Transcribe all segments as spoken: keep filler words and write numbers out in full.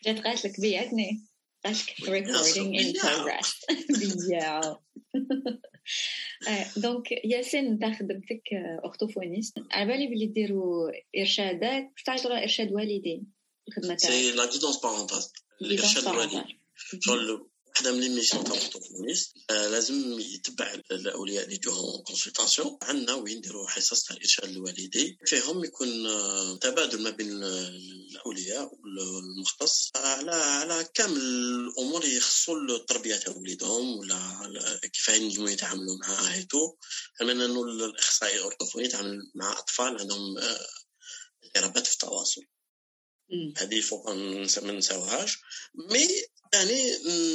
جات قالت لك بيعتني قالت لك recording in progress بيا. دونك ياسين انت خدمتك اورتوفونيست، على بالي بلي ديروا ارشادات، واش تعيطوا ارشاد والدين الخدمه تاعك؟ سي لا غيدونس بارونتال، الارشاد الوالدي. شغل وحده من لي ميسيون تاع الاورتوفونيست لازم يتبع الاولياء اللي يجوهم كونسلطاسيون. عندنا وين نديروا حصص تاع الارشاد الوالدي فيهم يكون تبادل ما بين الاولياء والمختص على على كامل الامور يخصوا التربيه تاع وليدهم ولا كيف ينجموا يتعاملوا معاه هيتو. كمان انه الاخصائي الاورتوفوني يتعامل مع اطفال عندهم اضطرابات في التواصل. هذه فوق ما نساوهاش، مي يعني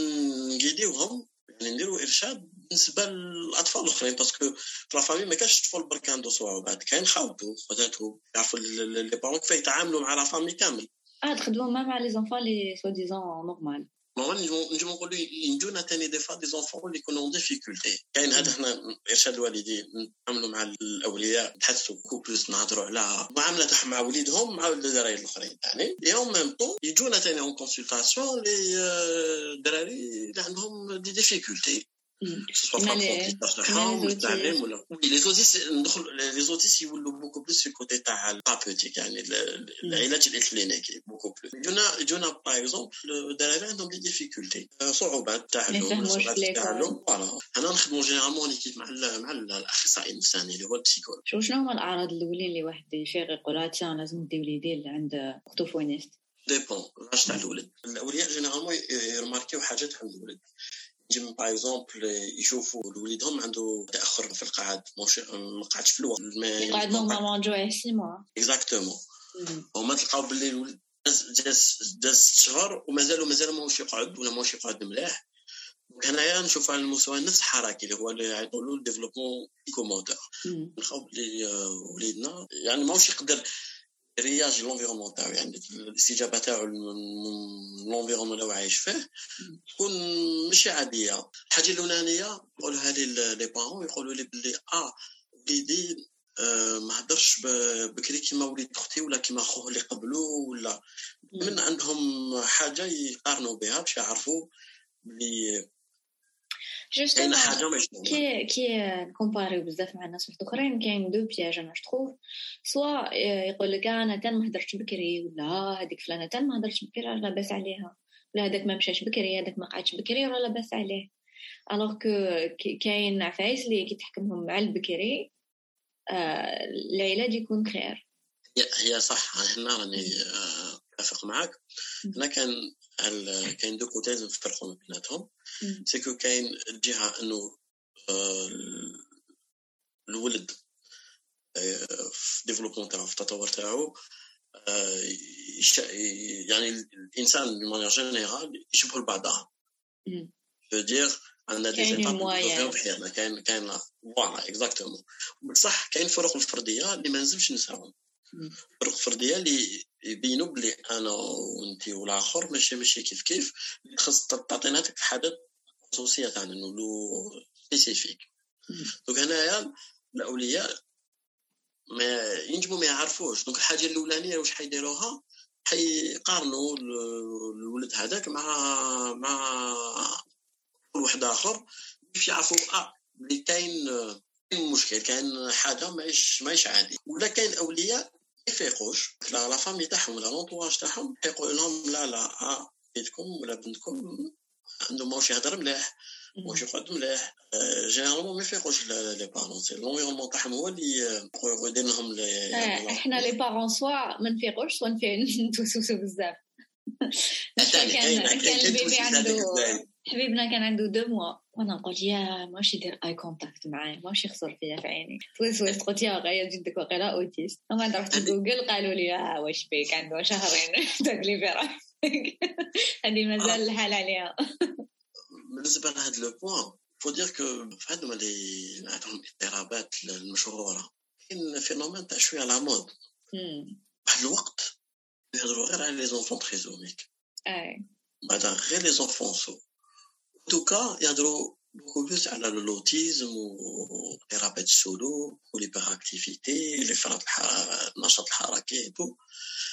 نجيديوهم يعني نديروا ارشاد بالنسبه للاطفال الاخرين، باسكو في لا فامي ما كاش طفل برك عنده صوع، بعد كاين خاوته خواتاتو يعرفوا لي بارون كيف يتعاملوا مع لا فامي كامل. اه تخدموا مع لي زونفون لي سو ديزون نورمال. ما نجم نقولوا ينجونا ثاني دي فا دي زونفون اللي يكونوا ديفيكولتي. كاين هذا احنا ارشاد الوالدين نتعاملوا مع الاولياء نحسوا كوبلس نهضروا على معامله تاع مع وليدهم مع الدراري الاخرين يعني يوم ميم طون يجونا ثاني اون كونسلطاسيون لي الدراري اللي عندهم دي ديفيكولتي سواء في التعليم ولا التعليم ولا لي زوتيس. ندخل لي زوتيس يولوا بوكو بليس في كوتي تاع الثيرابيوتيك يعني العلاج الكلينيكي بوكو بليس. جونا جونا باغ اكزومبل الدراري عندهم دي ديفيكولتي صعوبات تعلم صعوبات تعلم فوالا. انا نخدموا جينيرالمون كيف مع مع الاخصائي النفساني اللي هو البسيكولوج. شنو هما الاعراض الاولين اللي واحد يفيق يقول تاع لازم ندي وليدي عند اورتوفونيست؟ ديبون واش تاع الولد. الاولياء جينيرالمون يرماركيو حاجات عند الولد. جيم باغ اكزومبل يشوفوا وليدهم عنده تاخر في القعد، مش ما قعدش في الوقت يقعد نورمالمون جوع سي موا اكزاكتومون. وما تلقاو باللي الولد داز داز شهر ومازال ومازال ماهوش يقعد ولا ماهوش يقعد مليح. هنايا نشوف على المستوى نفس الحركي اللي هو اللي يعيطوا له ديفلوبمون سيكوموتور. نخاف بلي وليدنا يعني ماهوش يقدر رياج لونفيرونمون تاعو يعني الاستجابه تاعو لونفيرونمون اللي عايش فيه تكون ماشي عاديه. الحاجه الاولانيه نقولها لي لي بارون يقولوا لي بلي اه وليدي آه ما هضرش بكري كيما وليد اختي ولا كيما خوه اللي قبلو ولا من عندهم حاجه يقارنوا بها باش يعرفوا بلي جوستومون كي كي كومباريو بزاف مع الناس الاخرين. كاين دو بياج انا شتروف، سوا يقول لك انا تان ما هضرتش بكري ولا هذيك فلانه تان ما هضرتش بكري راه لاباس عليها، ولا هذاك ما مشاش بكري هذاك ما قعدش بكري راه لاباس عليه. الوغ كو كاين عفايس اللي كي تحكمهم مع البكري آه العلاج يكون خير. هي صح هنا راني اتفق معك. انا كان كاين دو كوتي لازم نفرقوا بيناتهم. سيكو كاين الجهه انه الولد في ديفلوبمون تاعو في التطور تاعو يعني الانسان بمعنى جينيرال يشبهوا لبعضها. جو دير عندنا دي زيتاب في حياتنا كاين كاين فوالا اكزاكتومون. بصح كاين فروق الفرديه اللي ما نلزمش نساهم. فروق فرديه اللي يبينوا بلي انا وانتي والاخر ماشي ماشي كيف كيف خاص تعطينا هذيك الحاجات خصوصيه تاعنا نقولوا سبيسيفيك. دونك هنايا الاولياء ما ينجموا ما يعرفوش. دونك الحاجه الاولانيه واش حيديروها حيقارنوا الولد هذاك مع مع كل واحد اخر باش يعرفوا اه بلي كاين مشكل كاين حاجه ماهيش ماهيش عادي. ولا كاين اولياء يفيقوش لا لا فامي تاعهم ولا لونطواج تاعهم يقول لهم لا لا اه بنتكم ولا بنتكم عنده ماهوش يهضر مليح ماهوش يقعد مليح. جينيرالمون ما يفيقوش لي بارون سي لونفيرونمون تاعهم هو اللي يدير لهم لي احنا لي بارون سوا ما نفيقوش سوا نتوسوسو بزاف. كان كان البيبي عنده حبيبنا كان عنده دو موا وانا قلت يا ماشي يدير اي كونتاكت معايا ماشي يخسر فيا في عيني توسوس قلت يا غايه جدك وقيلا اوتيست. وما رحت جوجل قالوا لي اه واش بيك عنده شهرين تقلي في هذه مازال الحال عليها. بالنسبه لهذا لو بوين فو دير كو فهادو اللي عندهم اضطرابات المشهوره كاين فينومين تاع شويه على مود واحد الوقت يهضروا غير على لي زونفون تريزوميك اي بعد غير لي زونفون سو دوكا يهضروا بوكو بلوس على اللوتيزم واضطرابات السلوك والهيبر اكتيفيتي اللي فرط النشاط الحركي تو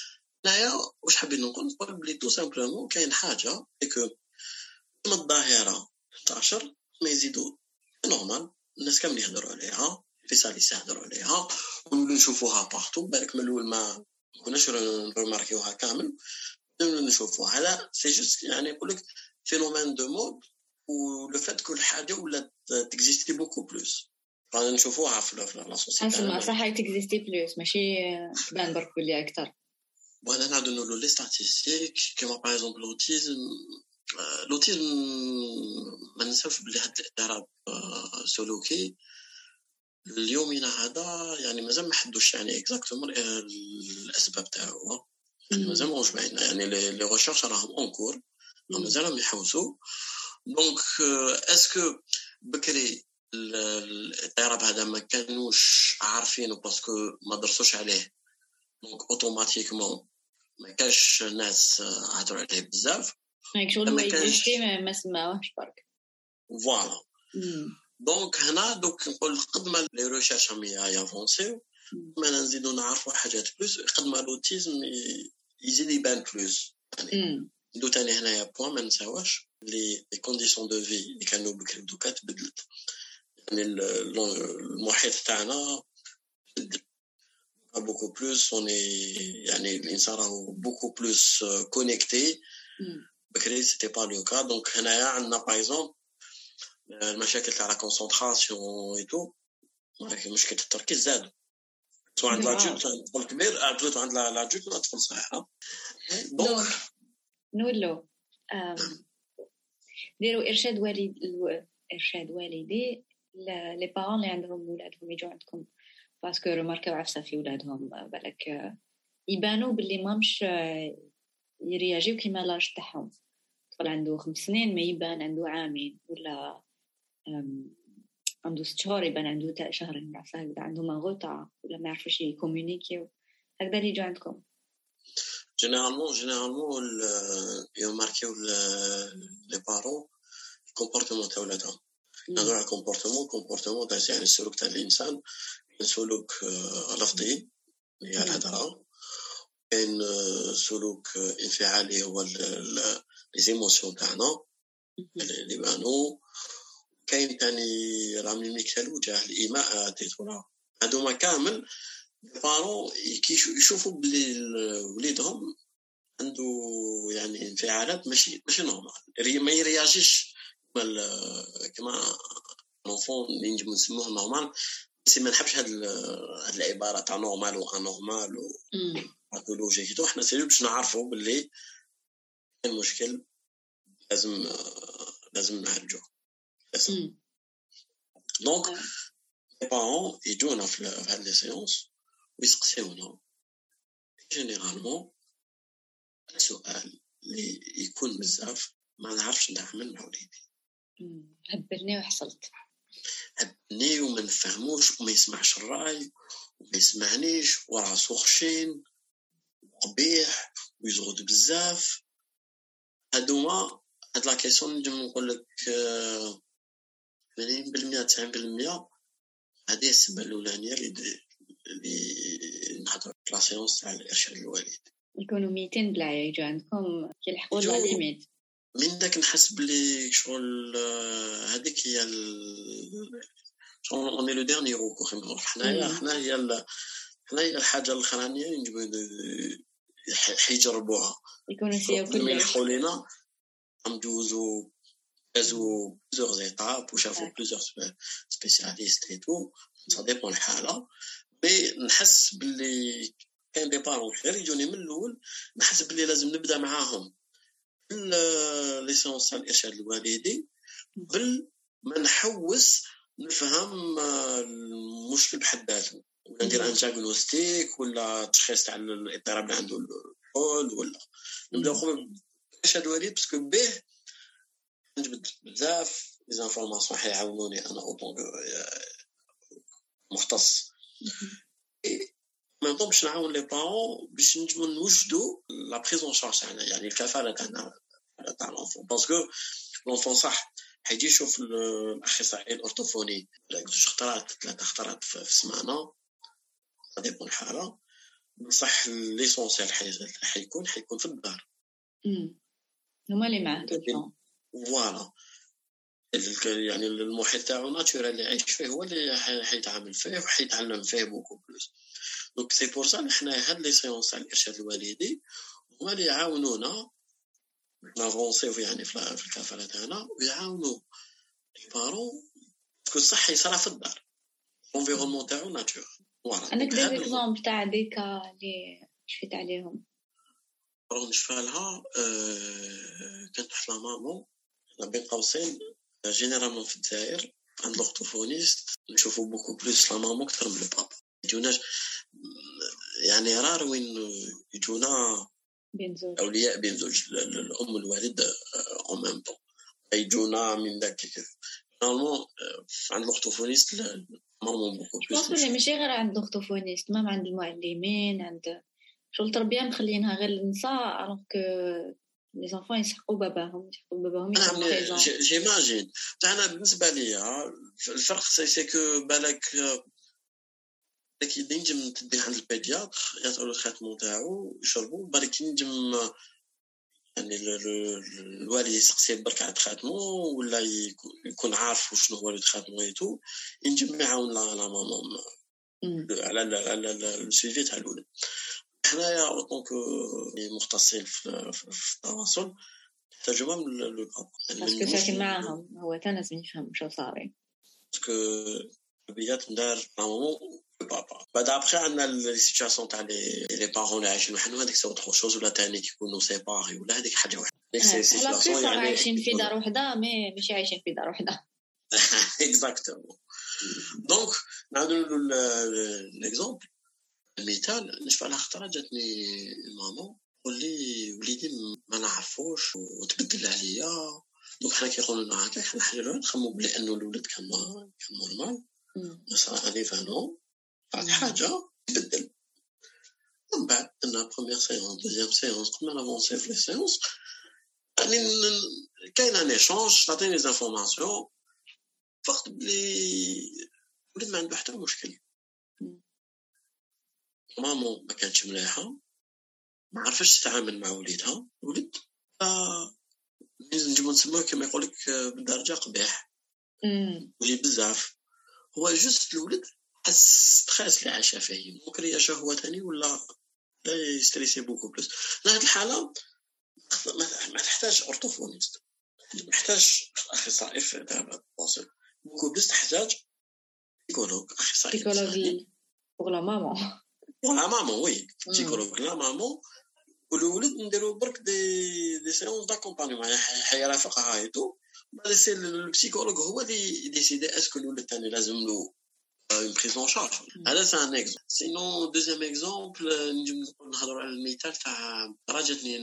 هنايا واش حابين نقول نقول بلي تو سامبلومون كاين حاجه كو كما الظاهره تنتشر ما يزيدوا نورمال الناس كامل يهضروا عليها في ساليس يهضروا عليها ونولوا نشوفوها بارتو بالك من الاول ما كناش نرماركيوها كامل نشوفوا هذا سي جوست يعني يقول لك فينومين دو مود ولو فات كل حاجه ولا تكزيستي بوكو بلوس رانا نشوفوها في لا سوسيتي اسمع صح هي تكزيستي بلوس ماشي تبان برك بلي اكثر وانا نعاودو نقولوا لي ستاتيستيك كيما باغ اكزومبل لوتيزم لوتيزم ما ننساوش بلي هاد الاضطراب السلوكي اليومنا هذا يعني مازال ما حدوش يعني اكزاكتومون الاسباب تاعو يعني مازال واش باين يعني لي ريشيرش راهم اونكور مازالهم يحوسوا دونك اسكو بكري الاضطراب هذا ما كانوش عارفينه باسكو ما درسوش عليه دونك اوتوماتيكمون ما كاش ناس هضروا عليه بزاف هيك شغل ما يجي ما سمعوش برك فوالا دونك هنا دوك نقول قد ما لي ريشيرش هم يافونسيو ما نزيدو نعرفوا حاجات بلوس قد ما لوتيزم يزيد يبان بلوس يعني دو تاني هنايا بوين ما نساواش لي كونديسيون دو في اللي كانوا بكري دوكا تبدلت يعني المحيط تاعنا beaucoup plus on est يعني الانسان راهو beaucoup plus connecté بكري c'était pas le cas donc هنايا عندنا par exemple المشاكل تاع لا كونسونطراسيون اي تو مشكل التركيز زاد سواء عند لاجوت طفل كبير عدلت عند لاجوت ولا طفل صغير دونك نقولوا ديروا ارشاد والد ارشاد والدي لي بارون اللي عندهم ولادهم يجوا عندكم باسكو رماركاو عفسه في ولادهم بالك يبانوا باللي مامش يرياجيو كيما لاج تاعهم طفل عنده خمس سنين ما يبان عنده عامين ولا عنده ست شهور يبان عنده تاع شهرين عفسه هكذا عنده ماغوطا ولا ما يعرفوش يكومونيكيو هكذا اللي يجوا عندكم جينيرالمون جينيرالمون يماركيو لي بارون الكومبورتمون تاع ولادهم نهضروا على الكومبورتمون الكومبورتمون تاع يعني السلوك تاع الانسان سلوك لفظي هي الهضره كاين سلوك انفعالي هو لي زيموسيون تاعنا اللي بانوا كاين ثاني راه ميميك تاع الوجه الايماء تيتولا هادوما كامل بارون يشوفوا بلي وليدهم عنده يعني انفعالات ماشي ماشي نورمال ما يرياجيش كما لونفون اللي نجم نسموه نورمال بس ما نحبش هاد هاد العباره تاع نورمال و انورمال و باثولوجي كده احنا سيريو باش نعرفوا باللي المشكل لازم لازم نعالجوه دونك لي بارون يجونا في هاد لي سيونس ويسقسيونا جينيرالمون السؤال اللي يكون بزاف ما نعرفش نعمل مع وليدي هبلني وحصلت هبني وما نفهموش وما يسمعش الراي وما يسمعنيش وراسو خشين قبيح ويزغد بزاف هادوما هاد لا كيسيون نجم نقول لك ثمانين بالمية تسعين بالمية هذه السبب الاولانيه اللي اللي نحضر لا سيونس تاع الارشاد الوالد يكونوا ميتين بلا يجوا عندكم كيلحقوا لا ليميت من داك نحس بلي شغل هذيك هي شغل اوني لو ديرني روكو خمر حنايا حنايا حنايا الحاجه الاخرانيه اللي نجيبو يجربوها يكونوا فيها كل يلحقوا لينا ندوزو دازو بليزيور زيتاب وشافوا بليزيور سبيسياليست اي تو سا ديبون الحاله مي نحس باللي كاين دي بارون غير يجوني من الاول نحس باللي لازم نبدا معاهم ليسونس تاع الارشاد الوالدي قبل ما نحوس نفهم المشكل بحد ذاته ولا ندير انتاغونستيك ولا تشخيص تاع الاضطراب اللي عنده الحول ولا نبدا قبل الارشاد الوالدي باسكو به نجبد بزاف لي انفورماسيون حيعاونوني انا اوطون مختص ما نطلبش نعاون لي بارون باش نجمو نوجدوا لا بريزون شارج تاعنا يعني الكفاله تاعنا تاع لونفون باسكو لونفون صح حيجي يشوف الاخصائي الاورتوفوني لا جوج خطرات ثلاثه خطرات في السمانه غادي يكون حاله بصح ليسونسيال حيكون حيكون في الدار. امم هما اللي معاه طول. فوالا يعني المحيط تاعو ناتورال اللي عايش فيه هو اللي حيتعامل فيه وحيتعلم فيه بوكو بلوس. دونك سي بور سا حنا هاد لي سيونس تاع الارشاد الوالدي هما اللي يعاونونا نافونسيو يعني في الكفاله تاعنا ويعاونوا لي بارون باسكو الصح يصرا في الدار الانفيرونمون تاعو ناتور. فوالا انا كدير اكزامبل تاع ديكا اللي شفت عليهم راه نشفالها أه... كانت واحد لا مامون بين قوسين جينيرالمون في الجزائر عند الاورتوفونيست نشوفوا بوكو بلوس لا مامون اكثر من البابا. يجوناش يعني رار وين يجونا بين زوج اولياء بين زوج الام والوالد او ميم طون يجونا من داك نورمالمون عند الاورتوفونيست نورمالمون بوكو بلوس. بس ماشي غير عند الاورتوفونيست ما عند المعلمين عند شغل التربيه مخلينها غير للنساء الوغ كو لي زانفون يسحقوا باباهم يسحقوا باباهم يكونوا بريزون. جيماجين انا بالنسبه لي الفرق سي كو بالك لكن ينجم تديه عند البيدياتر يعطيو الخاتمون تاعو يشربوا بالك ينجم يعني الوالي يسقسي برك على خاتمو ولا يكون عارف شنو هو اللي خاتمو ايتو ينجم يعاون لا لا ماما على على السيفي تاع الولد. حنايا دونك مختصين في التواصل ترجمه من البابا باسكو ساكن معاهم هو تا لازم يفهم شنو صاري باسكو البيات ندار مامون بابا. بعد ابخي عندنا لي سيتوياسيون تاع لي لي بارون اللي عايشين وحدهم هذيك سوا تخو شوز ولا تاني يكونوا سيباري ولا هذيك حاجه واحده. ديك سي سيتوياسيون يعني عايشين في دار وحده مي ماشي عايشين في دار وحده. اكزاكتومون. دونك نعاودوا ليكزامبل المثال نشوف على خطره جاتني ماما ولي وليدي ما نعرفوش وتبدل عليا. دونك حنا كيقولوا لنا هكا حنا حاجه نخمو بلي انه الولد كان كان نورمال صراحه لي فانو بعد حاجه تبدل. من بعد انا بروميير سيونس دوزيام سيونس قمنا نافونسي في لي سيونس يعني كاين ان ايشانج تعطيني لي انفورماسيون فقط بلي ولد ما عنده حتى مشكل. مامو ما كانتش مليحه ما عرفتش تتعامل مع وليدها ولد آه نجمو نسموه كما يقولك بالدرجه قبيح ولي بزاف هو جوست الولد حس ستريس اللي عاشه فيه ممكن يا شهوه ثاني ولا لا يستريسي بوكو بلوس. لا هذه الحاله ما تحتاج اورتوفونيست محتاج اخصائي في التواصل بوكو بلوس تحتاج سيكولوج اخصائي سيكولوج pour la maman pour la maman oui سيكولوج لا مامون والولد نديرو برك دي دي سيونس داكومبانيمون حيرافقها هايتو بعد سي البسيكولوج هو اللي يديسيدي اسكو الولد ثاني لازم له une prise en charge. هذا c'est un exemple. Sinon deuxième exemple نجم نهضروا على المثال تاع راجتني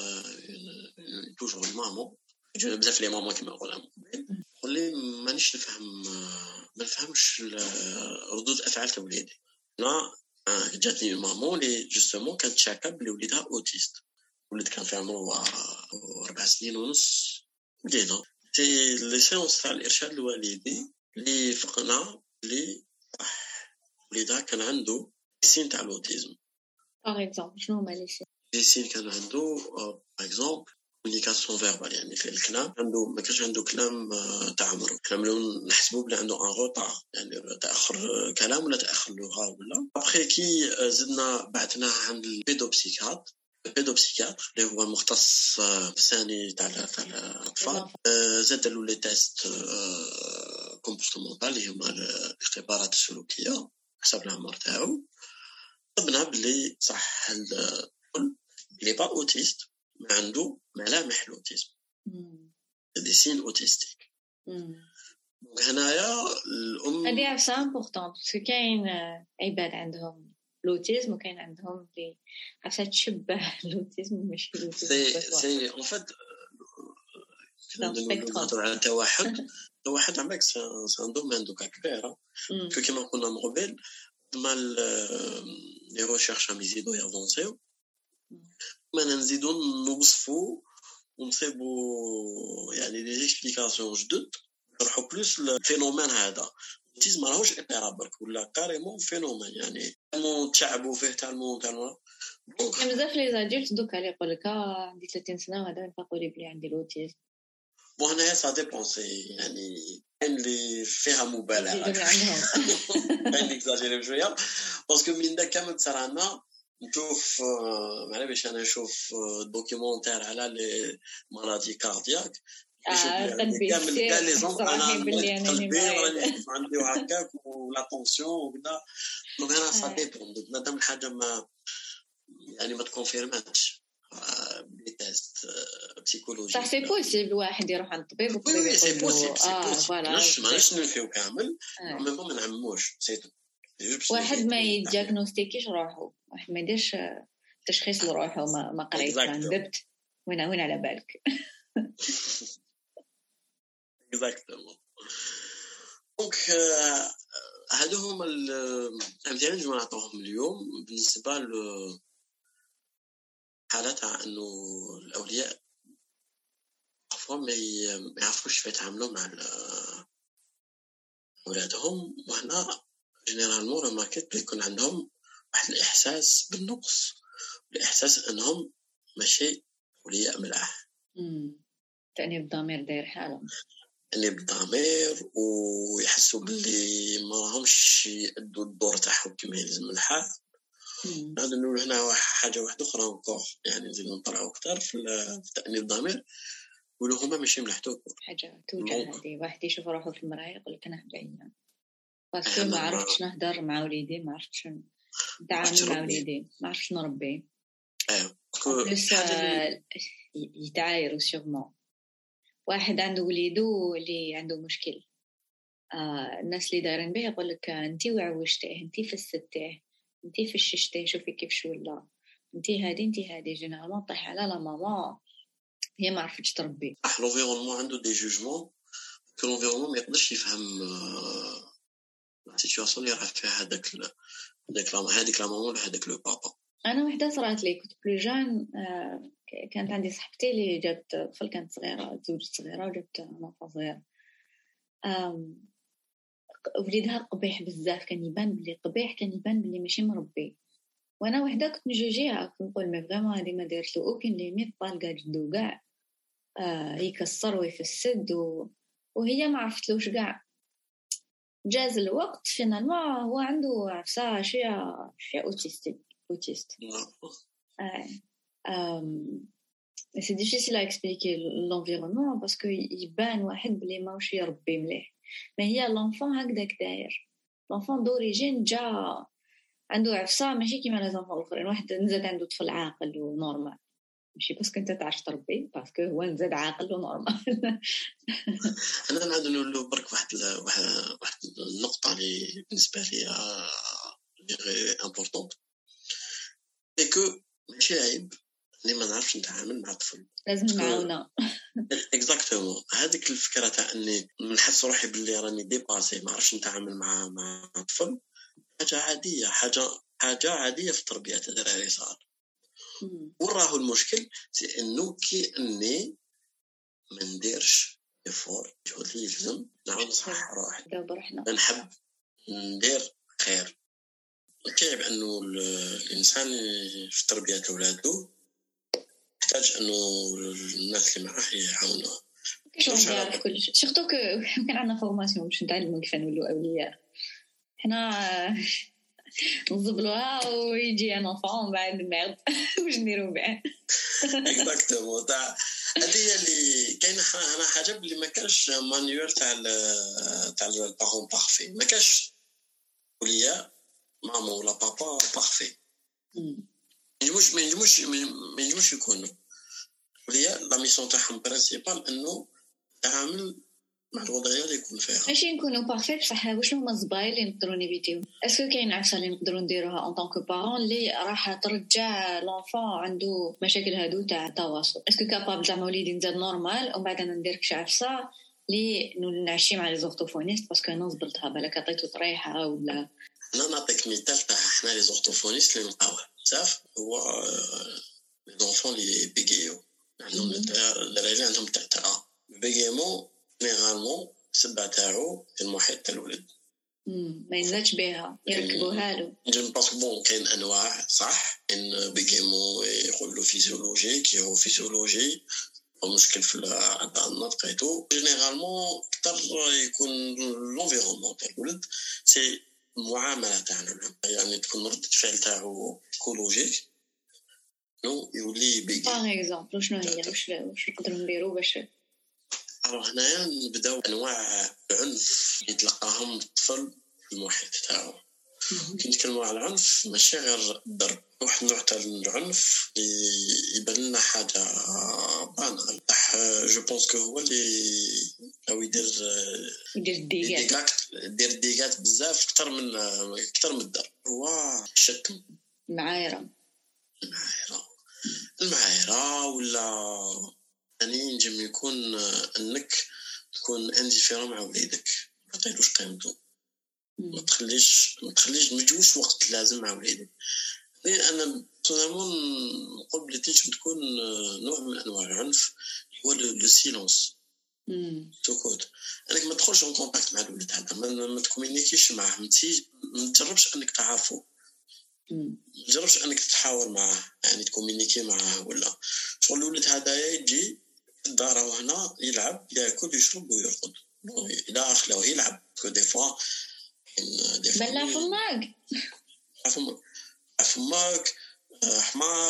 توجور مامون يجونا بزاف لي مامون كما نقولها قال لي مانيش نفهم ما نفهمش ردود افعال تاع وليدي. انا جاتني مامون اللي جوستومون كانت شاكه بلي وليدها اوتيست ولد كان في عمره أربع سنين ونص. بدينا سي لي سيونس تاع الارشاد الوالدي اللي فقنا اللي وليدها كان عنده سين تاع الاوتيزم. باغ اكزومبل شنو هما لي سين؟ لي سين كان عنده باغ اكزومبل كومونيكاسيون فيربال يعني في الكلام عنده ما كانش عنده كلام تاع عمره كلام لو نحسبوا بلي عنده ان روطار يعني تاخر كلام ولا تاخر لغه ولا. ابخي كي زدنا بعثناه عند البيدوبسيكات البيدوبسيكاتر اللي هو مختص في ثاني تاع الاطفال زاد له لي تيست كومبورتمونتال اللي هما الاختبارات السلوكيه حسب العمر تاعو. طبنا بلي صح الكل اللي با اوتيست ما عنده ملامح الاوتيزم دي سين اوتيستيك. هنايا الام هذه سا امبورطون باسكو كاين عباد عندهم الاوتيزم وكاين عندهم اللي عفسه تشبه الاوتيزم ماشي الاوتيزم سي سي ان فات نهضروا على التوحد التوحد عندك سان دومين دوكا كبير كيما قلنا من قبل مال لي ريشيرش ام يزيدوا يافونسيو ما نزيدوا نوصفوا ونصيبوا يعني لي اكسبليكاسيون جدد نروحوا بلوس الفينومين هذا الاوتيزم ماهوش اضطراب برك ولا كاريمون فينومين يعني مو تعبوا فيه تاع المو تاع دونك بزاف لي زادولت دوكا اللي يقول لك عندي ثلاثين سنه وهذا يفيقوا لي بلي عندي الاوتيزم. بون هنايا سا ديبونسي يعني اللي فيها مبالغه يعني اكزاجيري شويه باسكو من دا كامل ترانا نشوف معنا باش انا نشوف دوكيومونتير على لي مالادي كاردياك قلبي كاع لي زون انا قلبي راني عندي هكاك ولا طونسيون وكذا دونك انا سا ديبون مادام الحاجه ما يعني ما تكونفيرماتش بتست بسيكولوجي صح سي بوسيبل واحد يروح عند الطبيب والطبيب يقول له اه فوالا ماشي ماناش نفيو كامل مي ما نعموش سيتو واحد ما يدياغنوستيكيش روحو واحد ما يديرش تشخيص لروحو ما ما قريت ما ندبت وين وين على بالك اكزاكتومون دونك هادو هما الامثله اللي نعطوهم اليوم بالنسبه ل حالات انه الاولياء عفوا ما يعرفوش كيف يتعاملوا مع اولادهم. وهنا جينيرالمون رماركيت يكون عندهم واحد الاحساس بالنقص الاحساس انهم ماشي اولياء ملاح تاني بالضمير داير حالهم اللي بالضمير ويحسوا باللي ما راهمش يأدوا الدور تاعهم كما يلزم الحال. هذا نقول هنا حاجه واحده اخرى نكور يعني نزيد نطلعوا اكثر في التأنيب الضمير يقولوا هما ماشي ملحتوك حاجه توجع. هذه واحد يشوف روحه في المرايه يقول لك انا بعيان باسكو ما عرفتش نهضر مع وليدي ما عرفتش نتعامل مع وليدي ما عرفتش نربي ايوا بلس يتعايروا سيغمون واحد عنده وليدو اللي عنده مشكل آه الناس اللي دايرين به يقول لك انتي وعوجتيه انتي فسدتيه انتي فششتيه شوفي كيفاش ولا انتي هادي انتي هادي جينيرالمون طيح على لا ماما هي ما عرفتش تربي. لونفيرونمون عنده دي جوجمون كو لونفيرونمون ما يقدرش يفهم لا سيتوياسيون اللي راه فيها هذاك هذاك هذيك لا ماما ولا هذاك لو بابا. انا وحده صرات لي كنت بلو جان آه كانت عندي صاحبتي اللي جات طفل كانت صغيره تزوجت صغيره وجابت نوفا صغير آم وليدها قبيح بزاف كان يبان بلي قبيح كان يبان بلي ماشي مربي وانا وحده كنت نجوجيها كنت نقول مي فريمون هذه ما دارت له اوكين ليميت طالقه جدو كاع آه يكسر ويفسد و... وهي ما عرفتلوش كاع. جاز الوقت فينالمون هو عنده عفسه شويه شويه اوتيستيك اوتيست اه ام سي ديفيسيل ا اكسبليكي لونفيرونمون باسكو يبان واحد بلي ماهوش يربي مليح ما هي لونفون هكذاك داير لونفون دوريجين جا عنده عفسه ماشي كيما لي زونفون الاخرين واحد نزاد عنده طفل عاقل ونورمال ماشي باسكو انت تعرف تربي باسكو هو نزاد عاقل ونورمال. انا نعاود نقول برك واحد واحد واحد النقطه اللي بالنسبه لي اللي غير امبورطون اي كو ماشي عيب اللي ما نعرفش نتعامل مع الطفل لازم نعاونه اكزاكتومون هذيك الفكره تاع اني نحس روحي باللي راني ديباسي ما عرفتش نتعامل مع مع الطفل حاجه عاديه حاجه حاجه عاديه في التربيه تاع الدراري صار. وراه المشكل سي انه كي اني ما نديرش افور جهد لي يلزم نعاود نصحح روحي نحب ندير خير كيف انه الانسان في تربيه اولاده يحتاج انه الناس اللي معاه يعاونوه كيفاش نعرف كل شيء سورتو كو كان عندنا فورماسيون باش نتعلموا كيف نولوا اولياء حنا نزبلوها ويجي ان انفون بعد ميرد واش نديروا به اكزاكتومون تاع هذه اللي كاينه انا حاجه بلي ما كانش مانيوال تاع تاع البارون بارفي ما كانش اولياء ماما ولا بابا بارفي يجوش ما يجوش ما يجوش يكونوا اولياء لا ميسيون تاعهم برينسيبال انه تعامل مع الوضعيه اللي يكون فيها ماشي نكونوا بارفيت بصح واش هما الزبايل اللي نقدروا نيفيتيو اسكو كاين عفسه اللي نقدروا نديروها ان طونك بارون اللي راح ترجع لونفون عنده مشاكل هادو تاع التواصل اسكو كابابل زعما وليدي نزاد نورمال ومن بعد ندير شي عفسه اللي نعشي مع لي زورتوفونيست باسكو انا زبلتها بالك عطيتو طريحه ولا انا نعطيك مثال تاع حنا لي زورتوفونيست اللي نلقاوه بزاف هو لي زونفون لي بيغيو عندهم الدراري عندهم تاع بيغيمون جينيرالمون السبه تاعو المحيط تاع الولد ما ينزلش بها يركبوها له. جن باسكو بون كاين انواع صح، كاين بيجيمو يقول له فيزيولوجيك هو فيزيولوجي مشكل في النطق ايتو. جينيرالمون اكثر يكون لونفيرونمون تاع الولد سي المعامله تاعنا، يعني تكون ردة فعل تاعو ايكولوجيك نو يولي بيجي. باغ اكزومبل شنو هي واش واش نقدروا نديروا باش alors هنايا نبداو انواع العنف يتلقاهم الطفل في المحيط تاعو. كي نتكلموا على العنف ماشي غير الضرب، واحد النوع تاع العنف يبان لنا حاجه بانال جو بونس كو هو اللي او يدير يدير ديغات يدير ديغات بزاف اكثر من اكثر من الضرب. هو الشتم، المعايره المعايره المعايره ولا يعني ينجم يكون انك تكون انديفيرون مع وليدك، ما تعطيلوش قيمته، ما تخليش ما تخليش مجوش وقت لازم مع وليدك. لان انا تمام نقول بلي تنجم تكون نوع من انواع العنف هو لو سيلونس سكوت. انك ما تدخلش ان كونتاكت مع الولد هذا، ما تكومينيكيش معاه، ما تجربش انك تعرفه، ما تجربش انك تتحاور معاه يعني تكومينيكي معاه. ولا شغل الولد هذا يجي الدار وهنا يلعب ياكل يشرب ويرقد الى اخره يلعب كو دي فوا بلا فماك فماك فماك حمار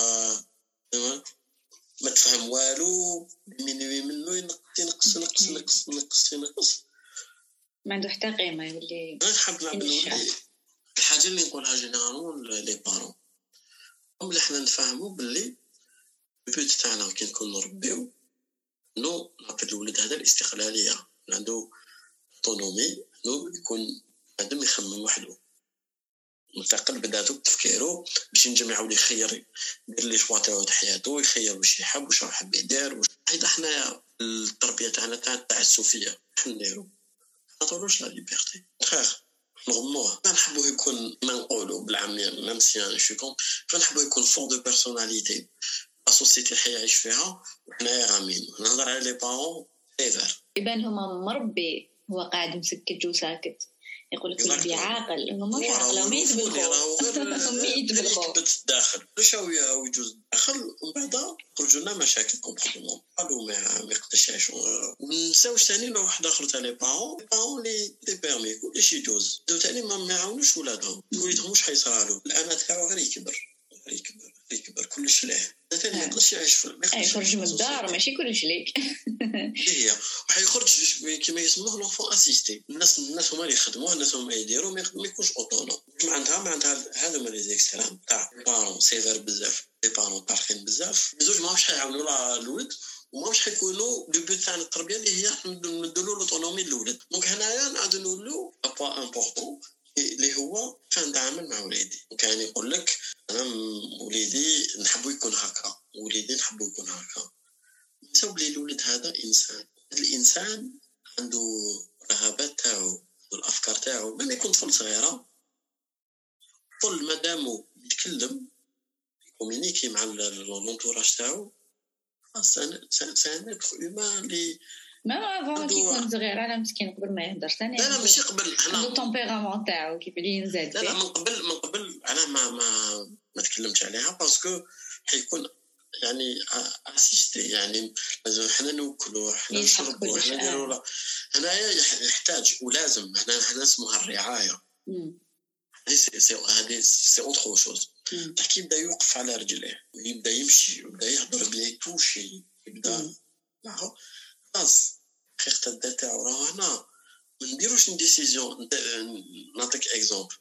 ما تفهم والو مني منه ينقص ينقص ينقص ينقص ينقص ينقص ما عنده حتى قيمه. يولي نحب نلعب الولد. الحاجه اللي نقولها جينيرالمون لي بارون هم اللي حنا نفهموا باللي البيت تاعنا كي نكون نربيو نو نعطي الولد هذا الاستقلاليه، عنده اوتونومي، نو يكون عندهم يخمم وحده مستقل بذاته بتفكيره باش ينجم يعاود يخير يدير لي شوا تاعو حياته، يخير واش يحب واش يحب يدير. هذا حنا التربيه تاعنا تاع التعسفيه حنا نديرو، ما نعطولوش لا ليبرتي خير نغموه. ما نحبوه يكون ما نقولوا بالعاميه ميم سي ان شو كون فنحبوه يكون فور دو بيرسوناليتي السوسيتي اللي حيعيش فيها. وحنا غامين نهضر على لي بارون ايفر يبان هما مربي هو قاعد مسكت وساكت يقول لك ولدي عاقل، هما مش عاقل، ما يتبلغوا ما يتبلغوا داخل شويه ويجوز داخل ومن بعد خرجوا لنا مشاكل كومبليمون قالوا ما ما يقدرش يعيشوا. ونساوش ثاني نوع واحد اخر تاع لي بارون لي بارون لي لي بيرمي كلش يجوز دو ثاني ما يعاونوش ولادهم، وليدهم واش حيصرالو الانا تاعو غير يكبر يكبر يكبر كلش ليه ثاني ما يقدرش يعيش في يخرج من الدار ماشي كلش ليك هي وحيخرج كيما يسموه لونفون اسيستي. الناس الناس هما اللي يخدموه، الناس هما يديروا، ما يكونش اوتونوم. ما عندها ما عندها هذا هما لي زيكستريم تاع بارون سيفير بزاف، لي بارون طارقين بزاف، بزوج ماهمش حيعاونوا لا الولد وماهمش حيكونوا لو بوت تاع التربيه اللي هي نديروا لوطونومي للولد. دونك هنايا نعاودوا نقولوا ابوا امبورطون اللي هو كيف نتعامل مع وليدي. وكان يقول لك انا وليدي نحبو يكون هكا، وليدي نحبو يكون هكا. نساو لي الولد هذا انسان، الانسان عنده رغبات تاعو والافكار تاعو. من يكون طفل صغيره طفل مادامو يتكلم كومينيكي مع لونتوراج تاعو سان سان ما لي ما افون كي يكون صغير على مسكين قبل ما يهدر ثاني. لا لا ماشي قبل، عنده التمبيرامون تاعو كيف اللي ينزل. لا لا من قبل من قبل انا ما ما ما تكلمتش عليها باسكو حيكون يعني اسيستي، يعني لازم حنا نوكلوا حنا نشربوا حنا نديروا. هنايا يحتاج ولازم حنا حنا اسمها الرعايه. هذه سي هذه سي اوتر شوز. تحكي يبدا يوقف على رجليه، يبدا يمشي، يبدا يهضر بلي توشي، يبدا معه خلاص حقيقه الذات تاعو. راه هنا ما نديروش ديسيزيون. نعطيك اكزومبل،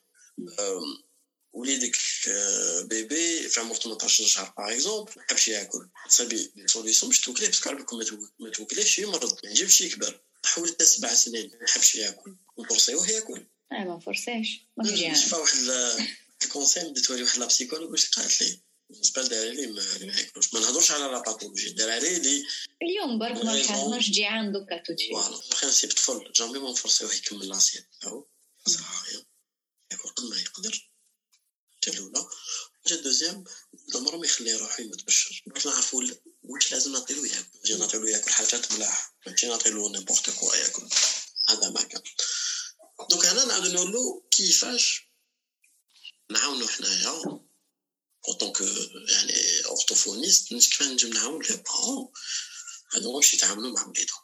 وليدك بيبي في عمر ثمانية عشر شهر باغ اكزومبل ما حبش ياكل، صافي سوليسيون باش توكليه باسكو عرفكم ما توكليش يمرض، ما يجيبش يكبر. حول حتى سبع سنين ما حبش ياكل ونفرسيوه ياكل. اه ما فرساش ما جيان نشوف واحد الكونسيم ديتوري واحد لا بسيكولوج واش قالت لي بالنسبه لي ما ياكلوش. ما نهضرش على لا باثولوجي داري لي اليوم برك ما حاجمش جيعان دوكا توتشي. فوالا برينسيپ طفل جامي ما نفرسيوه يكمل لاسيت تاعو صراحه ياكل قد ما يقدر. الاولى جا دوزيام عمره ما يخليه روحو يتبشر باش نعرفوا واش لازم نعطيلو ياكل. نجي نعطيلو ياكل حاجات ملاح، ماشي نعطيلو نيمبورط كوا ياكل، هذا ما كان. دونك هنا نعاودو نبينوا له كيفاش نعاونوا حنايا اوطون كو يعني اورتوفونيست مش كيفاش نجم نعاون لي بارون هادو باش يتعاملوا مع وليدهم.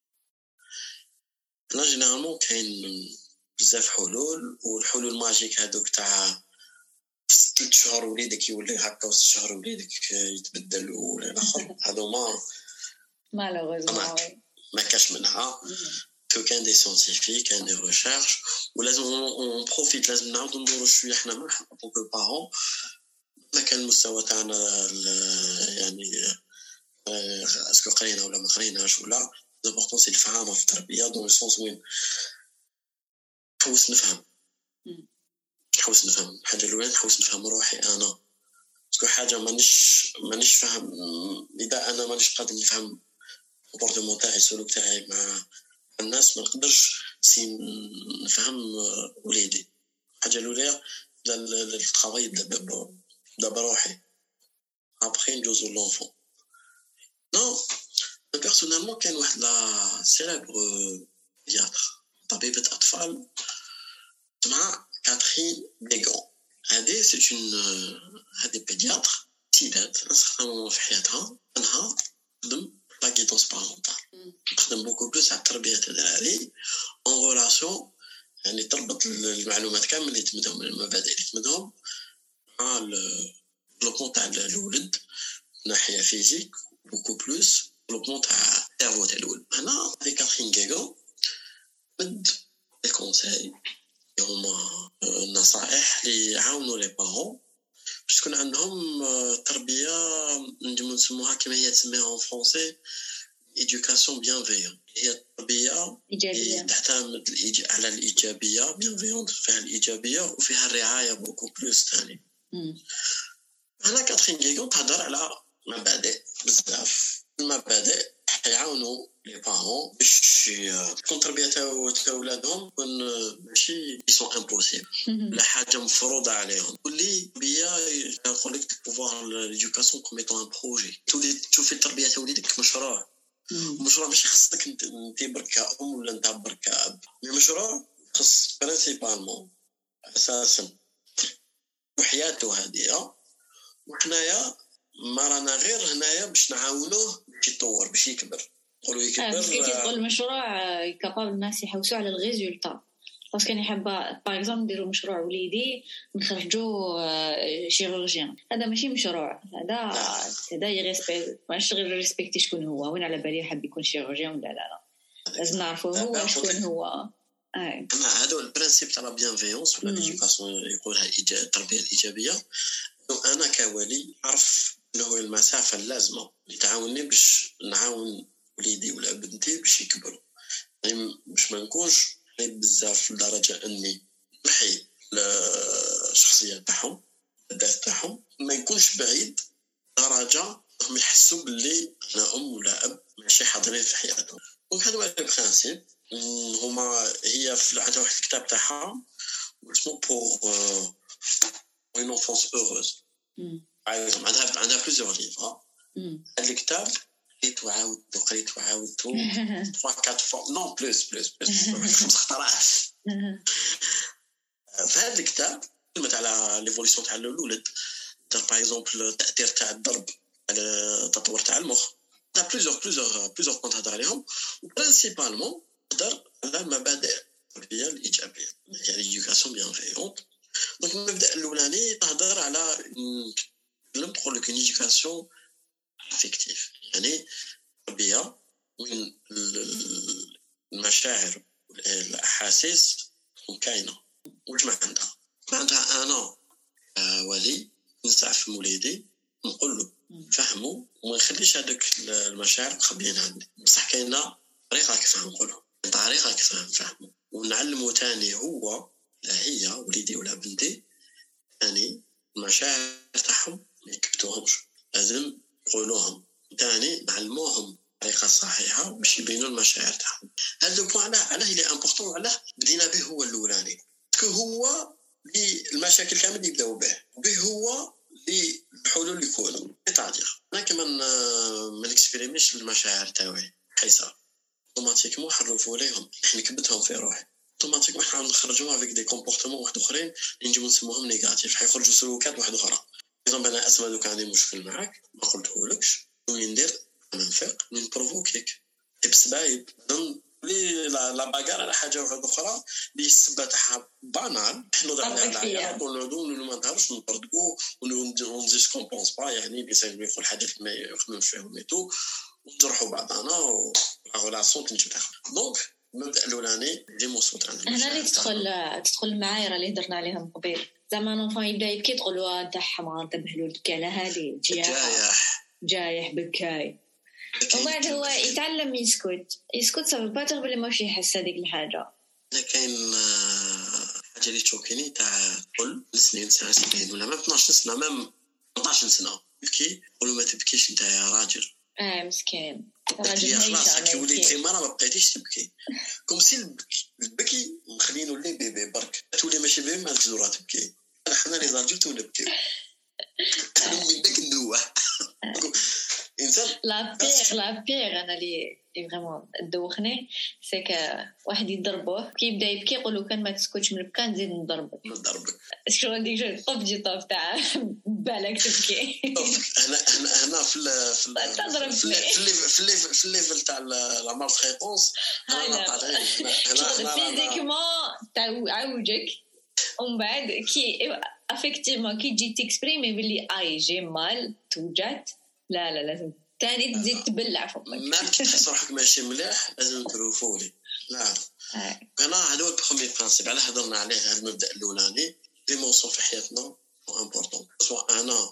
لا جينيرالمون كاين بزاف حلول، والحلول ماجيك هادوك تاع ثلاث شهور وليدك يولي هكا وست شهور وليدك يتبدل ولا الاخر هادو ما مالوغوزمون ما كاش منها. كو كان دي سيانتيفيك كان دي ريشيرش ولازم اون بروفيت لازم نعاودو ندورو شويه حنا معنا بوكو بارون ما كان المستوى تاعنا يعني اسكو قرينا ولا ما قريناش ولا لابورطون سي الفهم في التربيه دون السونس وين نحوس نفهم نحوس نفهم حاجه الاولى نحوس نفهم روحي انا اسكو حاجه مانيش مانيش فاهم اذا انا مانيش قادر نفهم الكومبورتمون تاعي السلوك تاعي مع الناس ما نقدرش سي نفهم وليدي. حاجه الاولى الترافاي دابا دابا روحي ابخي ندوزو لونفون. نو بيرسونيلمون كان واحد لا سيليبر بياتر طبيبه اطفال اسمها كاترين بيغون. هذه سي اون هذه بيدياتر سيدات نستخدموا في حياتها انها تخدم لا غيدونس بارونتال تخدم بوكو بلوس على التربيه تاع الدراري اون ريلاسيون يعني تربط المعلومات كامل اللي تمدهم المبادئ اللي تمدهم مع لو تاع الولد ناحيه فيزيك بوكو بلوس لو تاع السيرفو تاع الولد. هنا هذه كاترين بيغون مد لي كونساي هما النصائح اللي يعاونوا لي بارون باش تكون عندهم تربيه نجمو نسموها كما هي تسميها في فرونسي ايدوكاسيون بيانفيون. هي التربيه ايجابيه تعتمد على الايجابيه بيانفيون فيها الايجابيه وفيها الرعايه بوكو بلوس ثاني. هنا كاترين بيغون تهضر على مبادئ بزاف المبادئ يعاونوا لي بارون باش تكون تربيه تاع اولادهم تكون ماشي سون امبوسيبل لا حاجه مفروضه عليهم. واللي بيا يقول لك بوفوار ليدوكاسيون كوم ايتون ان بروجي تولي تشوفي التربيه تاع وليدك مشروع مشروع ماشي خصك انت برك ام ولا انت برك اب المشروع خص برينسيبالمون اساسا وحياته هذه وحنايا ما رانا غير هنايا باش نعاونوه باش يتطور باش يكبر. نقولوا يكبر كي تقول المشروع كابابل الناس يحوسوا على الريزولتا باسكو كان يحبوا باغ اكزومبل نديروا مشروع وليدي نخرجوا شيروجيان هذا ماشي مشروع هذا هذا يريسبكت ماشي غير ريسبكتي شكون هو وين على بالي حاب يكون شيروجيان ولا لا لا لازم نعرفوا هو شكون هو. اي انا هذا البرانسيب تاع لا بيانفيونس ولا ليدوكاسيون يقولها التربيه الايجابيه. انا كولي عرف انه المسافه اللازمه اللي تعاونني باش نعاون وليدي ولا بنتي باش يكبروا يعني باش ما نكونش بزاف لدرجه اني نحي الشخصيه تاعهم الذات تاعهم ما يكونش بعيد درجه هم يحسوا باللي انا ام ولا اب ماشي حاضرين في حياتهم. وهذا هو البرانسيب هما هي في عندها واحد الكتاب تاعها اسمه بور une enfance heureuse. عندها عندها plusieurs livres. هذا الكتاب قريت وعاودت وقريت وعاودت trois quatre fois non plus plus plus خمس خطرات. فهذا الكتاب كلمة على ليفوليسيون تاع الولد باغ اكزومبل التأثير تاع الضرب على التطور تاع المخ تاع plusieurs plusieurs plusieurs بونت هضر عليهم وبرينسيبالمون هضر على مبادئ التربية الإيجابية يعني l'éducation bienveillante. دونك المبدا الاولاني تهضر على لم تقول لك ايدوكاسيون افيكتيف يعني تربيه وين المشاعر والاحاسيس كاينه واش ما عندها ما عندها انا ولي نسعف وليدي نقول له فهموا وما نخليش هذوك المشاعر مخبيين عندي بصح كاينه طريقه كيف نقولها طريقه كيف نفهموا ونعلمه ثاني هو لا هي وليدي ولا بنتي يعني المشاعر تاعهم ما يكبتوهمش لازم نقولوهم ثاني نعلموهم طريقه صحيحه باش يبينوا المشاعر تاعهم. هذا البوان علاه اللي امبورطون وعلاه بدينا به هو الاولاني باسكو هو اللي المشاكل كامل يبداو به به هو اللي الحلول اللي يكونوا تاعير انا كمان ما نكسبيريميش المشاعر تاعي حيصه اوتوماتيكمون حرفوا ليهم احنا كبتهم في روحي اوتوماتيكمون حنا نخرجوها افيك دي كومبورتمون واحد اخرين اللي نجيو نسموهم نيجاتيف، حيخرجوا سلوكات واحد اخرى. اذا انا اسمى دوك عندي مشكل معاك ما قلتهولكش وين ندير انا نفيق من بروفوكيك بسبايب لي لا باغار على حاجه واحده اخرى اللي السبه تاعها بانال حنا ضعنا عليها ونعودوا ما نهضرش نطردقوا ونزيد كومبونس با يعني بيسالوا يقول حاجات ما يخدموش فيهم ميتو ونجرحوا بعضنا وراسون تنجم تاخذ. دونك المبدا الاولاني ليموسيون تاعنا هنا اللي تدخل تدخل المعايير اللي هضرنا عليهم قبيل زعما نونفون يبدا يبكي تقولوا انت حمار انتبه له الكاله هذه جايح جايح بكاي ومن بعد هو يتعلم يسكت يسكت سبب باتر بلي ماشي يحس هذيك الحاجه. كاين حاجه اللي تشوكيني تاع كل سنين سنه سنين ولا ما اثناش سنه ما ثمانية عشر سنه يبكي يقولوا ما تبكيش انت يا راجل. اه مسكين راجل خلاص كي وليتي مره ما بقيتيش تبكي كوم سي البكي مخلينو لي بيبي برك تولي ماشي بيبي ما تزورا تبكي. حنا لي زارجل تو نبكي انا من داك النوع انسان لا بيغ لا بيغ انا لي فريمون دوخني سي ك واحد يضربوه كي يبدا يبكي يقولوا كان ما تسكتش من البكا نزيد نضربك نضربك شنو ديك جو طوب جي طوب تاع بالك تبكي. هنا هنا هنا في ال في ال في ال في الليفل تاع لا مال فريكونس هنا هنا فيزيكمون تعوجك ومن بعد كي افكتيفمون كي تجي تكسبريمي باللي اي جي مال توجات لا لا لازم تاني تزيد تبلع فمك ما تحس روحك ماشي مليح لازم تروفولي. لا انا هذا هو البروميير برانسيب على هضرنا عليه هذا المبدا الاولاني ليموسيون في حياتنا امبورطون سواء انا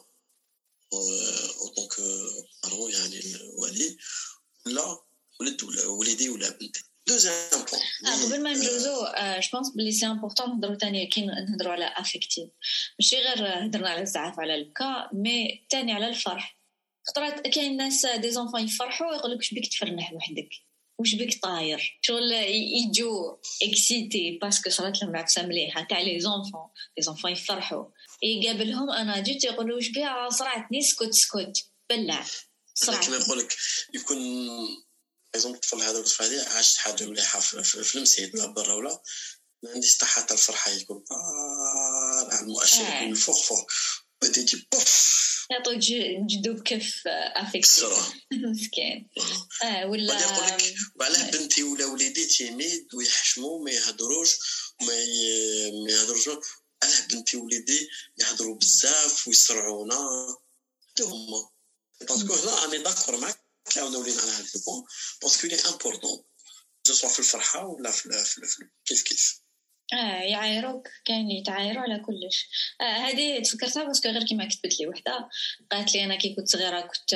او دونك بارون يعني الوالي ولا ولد ولا وليدي ولا بنتي. دوزيام بوين قبل ما نجوزو جو بونس بلي سي امبورطون نهضروا ثاني كي نهضروا على افيكتيف ماشي غير هضرنا على الزعف على البكا مي ثاني على الفرح. خطرات كاين ناس دي زونفون يفرحوا يقولك واش بك تفرح وحدك واش بك طاير شغل يجو اكسيتي باسكو صرات لهم عفسه مليحه تاع لي زونفون لي زونفون يفرحوا يقابلهم انا جيت يقولوا واش بها صرعتني سكوت سكوت بلع صرعت كما نقولك يكون ايزون الطفل هذا الطفل هذه عاش حاجه مليحه في المسيد ولا برا ولا ما عنديش حتى الفرحه يكون طالع المؤشر من فوق فوق بديتي بوف يعطوك جدو بكف افكتيف مسكين اه ولا يقول لك وعلاه بنتي ولا وليدي تيميد ويحشموا ما يهضروش وما ما يهضروش علاه بنتي وليدي يهضروا بزاف ويسرعونا هما باسكو هنا اني داكور معاك كاونا ولينا على هذا البون باسكو لي امبورطون سواء في الفرحه ولا في كيف كيف اه يعايروك كاين يتعايروا على كلش. اه هذه تفكرتها باسكو غير كيما كتبت لي وحده قالت لي انا كي كنت صغيره كنت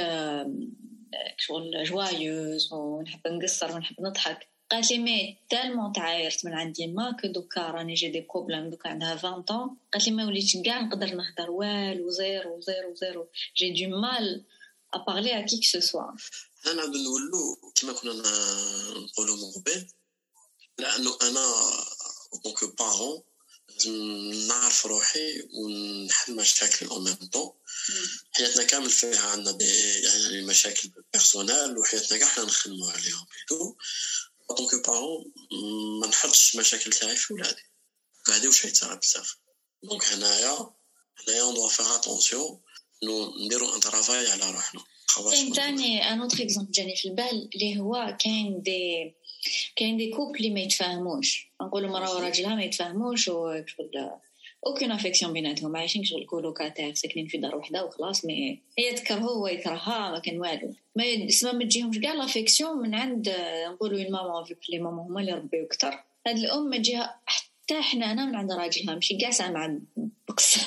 شغل جوايوز ونحب نقصر ونحب نضحك. قالت لي مي تالمون تعايرت من عندي ما كو دوكا راني جي دي بروبليم دوكا عندها عشرين طون. قالت لي ما وليتش كاع نقدر نهضر والو زيرو زيرو زيرو جي دو مال ا بارلي ا كي كو سو سوا. انا نعاود نولو كيما كنا نقولوا من قبل لانه انا دونك بارون نعرف روحي ونحل مشاكل او ميم طون. حياتنا كامل فيها عندنا دي يعني مشاكل بيرسونال وحياتنا كاع حنا نخدموا عليهم بيتو دونك بارون ما نحطش مشاكل تاعي في ولادي هذه واش يتصرا بزاف. دونك هنايا هنايا اون دو فيغ اتونسيون نو نديرو ان طرافاي على روحنا. كاين ثاني ان اوتر اكزامبل جاني في البال اللي هو كاين دي كاين دي كوبل اللي ما يتفاهموش نقولوا مرا وراجلها ما يتفاهموش وشغل اوكين افيكسيون بيناتهم عايشين شغل كولوكاتير ساكنين في دار وحده وخلاص مي هي تكرهه هو يكرهها ما كان والو ما اسمها ما تجيهمش كاع لافيكسيون من عند نقولوا الماما في لي ماما هما اللي ربيو اكثر. هاد الام ما تجيها حتى حنانه من عند راجلها ماشي كاع سامعه بقصه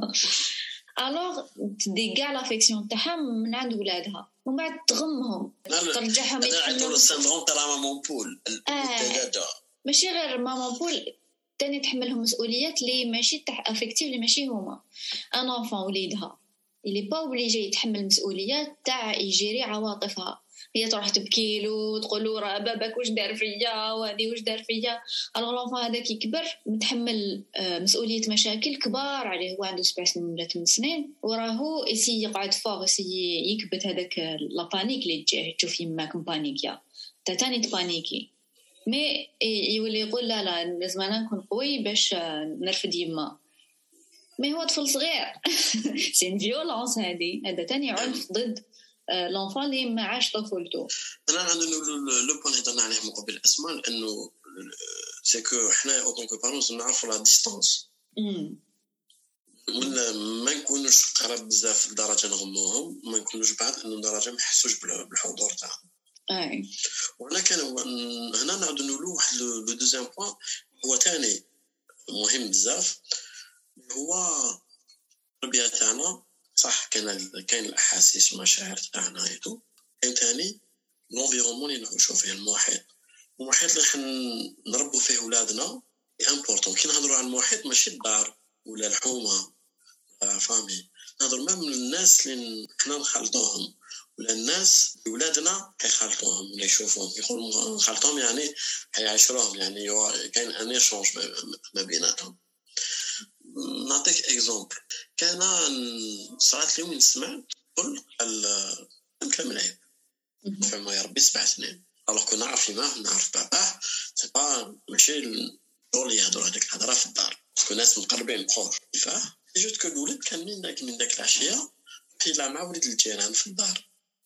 الوغ تدي كاع لافيكسيون تاعها من عند ولادها ومن بعد تغمهم ترجعهم يتحملوا السندروم تاع ماما بول الثلاجه ماشي غير ماما بول تاني تحملهم مسؤوليات اللي ماشي تاع افكتيف اللي ماشي هما. ان انفون وليدها اللي با اوبليجي يتحمل مسؤوليات تاع يجيري عواطفها. هي تروح تبكي له وتقول له راه باباك واش دار فيا وهذه واش دار فيا. الوغ لونفون هذاك يكبر متحمل مسؤوليه مشاكل كبار عليه هو عنده سبع سنين ولا ثمان سنين وراهو يسي يقعد فوق يسي يكبت هذاك لا بانيك اللي تجيه تشوف يماك بانيكيا انت ثاني تبانيكي مي يولي يقول لا لا لازم انا نكون قوي باش نرفد يما. مي هو طفل صغير سين فيولونس هذه، هذا تاني عنف ضد لونفون اللي ما عاش طفولته. انا عندنا لو بوين هضرنا عليه من قبل اسماء، لانه سي كو حنا او طونك بارونس نعرفوا لا ديستانس، ولا ما نكونوش قراب بزاف لدرجه نغموهم، ما نكونوش بعد انه درجه ما يحسوش بالحضور تاعهم. اي وانا كان هنا نعاودوا نقولوا واحد لو دوزيام بوين هو ثاني مهم بزاف، هو التربيه تاعنا. صح كاين كاين الاحاسيس والمشاعر تاعنا ايتو، كاين ثاني لونفيرونمون اللي نعيشوا فيه، المحيط. المحيط اللي حن نربوا فيه ولادنا امبورطون. كي نهضروا على المحيط ماشي الدار ولا الحومه فامي، نهضر ما من الناس اللي حنا نخلطوهم ولا الناس ولادنا حيخلطوهم ولا يشوفوهم يقولوا نخلطوهم، يعني حيعاشروهم، يعني كاين ان ايشونج ما بيناتهم. نعطيك اكزومبل، كان صارت لي وين سمعت قل الكلام العيب فما يربي سبع سنين، alors كنا نعرف ما نعرف باباه سي با ماشي الدور يهضروا هذيك الهضره في الدار، باسكو ناس مقربين بخور فاه جوت كو الولد كان من داك من داك العشيه حيلا مع ولد الجيران في الدار.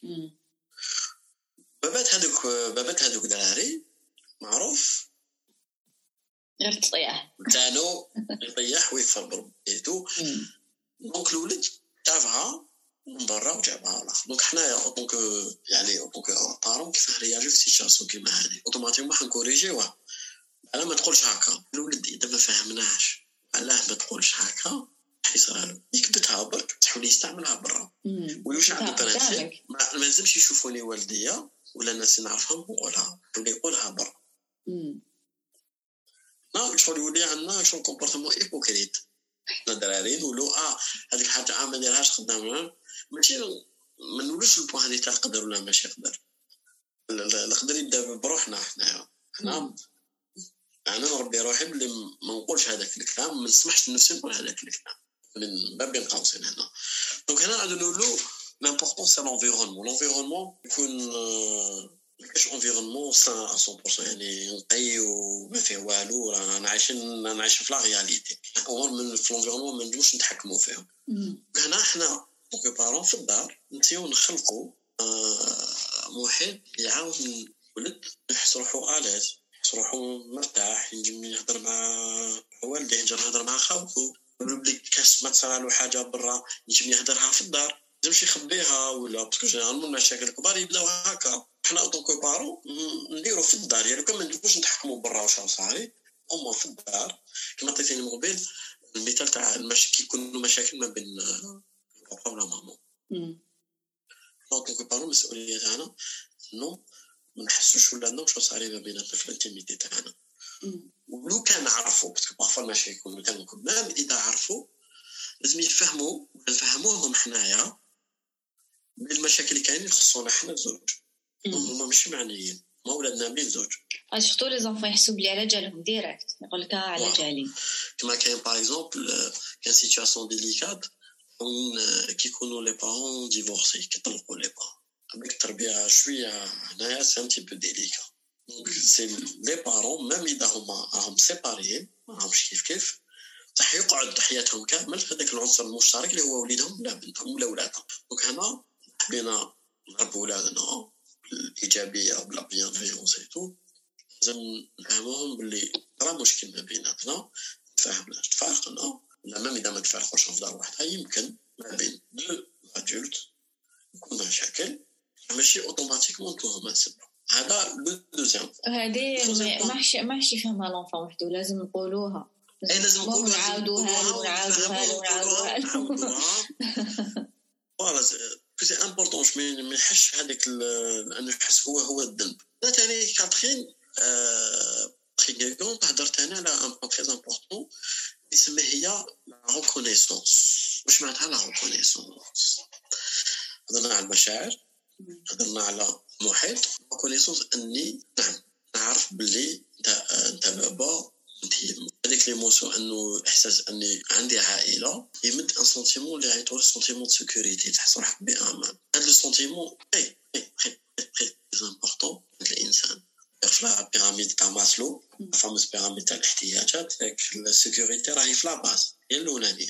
بابات هذوك بابات هذوك دراري معروف غير تطيح كانوا يطيح ويكفر بربيتو. دونك الولد جابها من برا وجابها الاخر. دونك حنايا دونك يعني دونك بارون كيفاه رياجي في سيتياسيون كيما هذه اوتوماتيكمون حنكوريجيوه. علاه ما تقولش هكا الولد اذا ما فهمناش علاه ما تقولش هكا حيصير له يكبتها برك تحاول يستعملها برا ويوش عنده برانسيب. ما لازمش يشوفوني والديا ولا الناس اللي نعرفهم نقولها ولا يقولها برا. لا شغل يولي عندنا شغل كومبورتمون ايبوكريت. حنا دراري نقولوا اه هذيك الحاجه اه ما نديرهاش خدامه، ماشي ما نقولوش البوان هذه تاع القدر ولا ماشي يقدر. القدر يبدا بروحنا حنايا. حنا انا نربي روحي بلي ما نقولش هذاك الكلام، ما نسمحش لنفسي نقول هذاك الكلام من باب بين قوسين هنا. دونك هنا غادي نقولوا لامبورطون سي لونفيرونمون. لونفيرونمون يكون كاش انفيرونمون سان مية بالمية، يعني نقي وما فيه والو، رانا عايشين رانا عايشين في لا رياليتي. امور من في لونفيرونمون ما نجموش نتحكموا فيهم. هنا احنا دونك بارون في الدار نسيو نخلقوا محيط يعاون الولد يحس روحو الاز، يحس روحو مرتاح، ينجم يهضر مع والديه، ينجم يهضر مع خاوته. بلي كاش ما تصرالو حاجه برا ينجم يهضرها في الدار، ماشي يخبيها ولا باسكو جينيرالمون المشاكل الكبار يبداو هكا. حنا طونكو بارو نديرو في الدار، يعني كون ما نجموش نتحكموا برا واش صاري اما في الدار. كما عطيتيني من قبل المثال تاع المشاكل كي يكونوا مشاكل ما بين بابا ولا ماما. امم طونكو بارو مسؤوليه تاعنا انه ما نحسوش ولادنا واش صاري ما بيناتنا في الانتيميتي تاعنا. ولو كان عرفوا باسكو بارفو ماشي يكونوا كانوا كمان اذا عرفوا لازم يفهموا ونفهموهم حنايا بالمشاكل اللي كاينين يخصونا حنا الزوج. هما ماشي معنيين ما ولادنا ملي الزوج سورتو لي زونفون يحسوا بلي على جالهم ديريكت، يقول لك على جالي. كما كاين باغ اكزومبل كاين سيتوياسيون ديليكات وين كيكونوا لي بارون ديفورسي كيطلقوا لي بارون avec التربيه شويه هنايا سي ان تي بو ديليكا. دونك سي لي بارون ميم اذا هما راهم سيباريين ما راهمش كيف كيف صح يقعد حياتهم كامل في هذاك العنصر المشترك اللي هو وليدهم ولا بنتهم ولا ولادهم. دونك هنا حبينا نربوا ولادنا بالايجابيه وبلا بيانفيونس اي تو، لازم نفهموهم باللي راه مشكل ما بيناتنا نتفاهمنا تفارقنا ولا ما اذا ما تفارقوش في دار واحده يمكن ما بين دو ادولت يكون مشاكل ماشي اوتوماتيكمون توهم سبب. هذا لو دوزيام هذه ماحش ماحش يفهمها لونفون وحده، لازم نقولوها اي لازم نقولوها ونعاودوها ونعاودوها ونعاودوها فوالا سي امبورطون ما يحسش هذاك لانه يحس هو هو الذنب. ثاني كاترين تري كون هضرت انا على ان بوين تري امبورطون اسمها هي لا ريكونيسونس. واش معناتها لا ريكونيسونس؟ هضرنا على المشاعر، هضرنا على المحيط. ريكونيسونس اني نعم نعرف باللي انت بابا انت هذيك ليموسيون، انه احساس اني عندي عائله يمد ان سونتيمون اللي عيطوا له سونتيمون دو سيكوريتي، تحس روحك بامان. هذا لو سونتيمون اي اي تري تري امبورطون الانسان في لا بيراميد تاع ماسلو فاموس بيراميد تاع الاحتياجات ياك السيكوريتي راهي في لاباس هي الاولانيه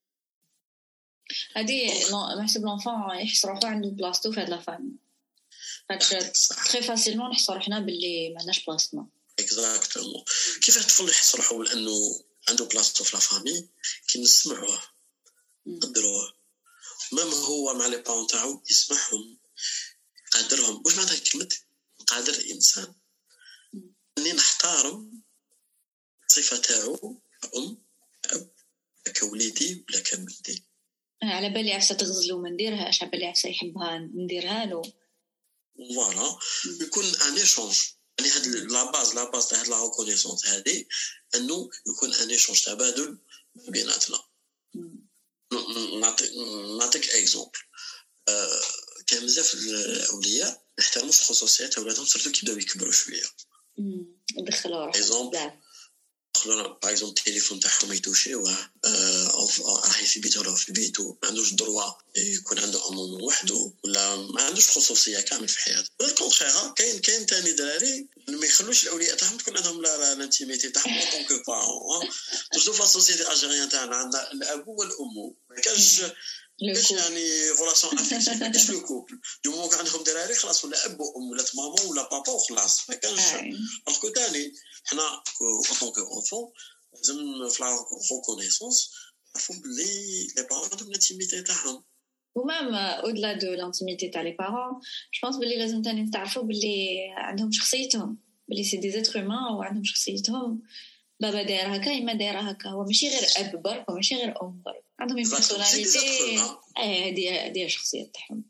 هادي نحسب لونفون يحس روحو عنده بلاصتو في هاد لا فامي هادشي تري فاسيلمون نحس روحنا باللي ما عندناش بلاصتنا اكزاكتومون كيف الطفل يحس روحو لانه عنده بلاصتو في لا فامي كي نسمعوه نقدروه مام هو مع لي بارون تاعو يسمعهم قادرهم واش معناتها كلمه قادر انسان اني نحترم صفه تاعو ام اب كوليدي ولا كبنتي على بالي عفسه تغزلو ما نديرهاش على بالي عفسه يحبها نديرها له فوالا يكون ان ايشونج يعني هاد لا باز لا باز تاع هاد لا ريكونيسونس هادي انه يكون ان ايشونج تبادل بيناتنا نعطيك نعطيك اكزومبل آه كان بزاف الاولياء يحترموش خصوصيات اولادهم سورتو كي بداو يكبروا شويه دخلوا روحهم دخلوا باغ اكزومبل التليفون تاعهم يتوشيوه راهي في بيته ولا في بيته ما عندوش دروا يكون عنده امون وحده ولا ما عندوش خصوصيه كامل في حياته ولا الكونترير كاين كاين ثاني دراري ما يخلوش الاولياء تاعهم تكون عندهم لا الانتيميتي تاعهم اون كو بارون توجو في السوسيتي اجيريان تاعنا عندنا الاب والام ما كاش كاش يعني غولاسيون افيكتيف كاش لو كوبل دو مو عندهم دراري خلاص ولا اب وام ولا ماما ولا بابا وخلاص ما كانش الكو ثاني حنا اون كو اونفون لازم في لا ريكونيسونس عرفوا بلي لي بارون عندهم الانتيميتي تاعهم ومام اودلا دو لانتيميتي تاع لي بارون جو بونس بلي لازم تاني تعرفوا بلي عندهم شخصيتهم بلي سي دي زيتر هومان وعندهم شخصيتهم بابا داير هكا اما داير هكا هو ماشي غير اب برك وماشي غير ام برك عندهم بيرسوناليتي اه هادي هادي الشخصيه تاعهم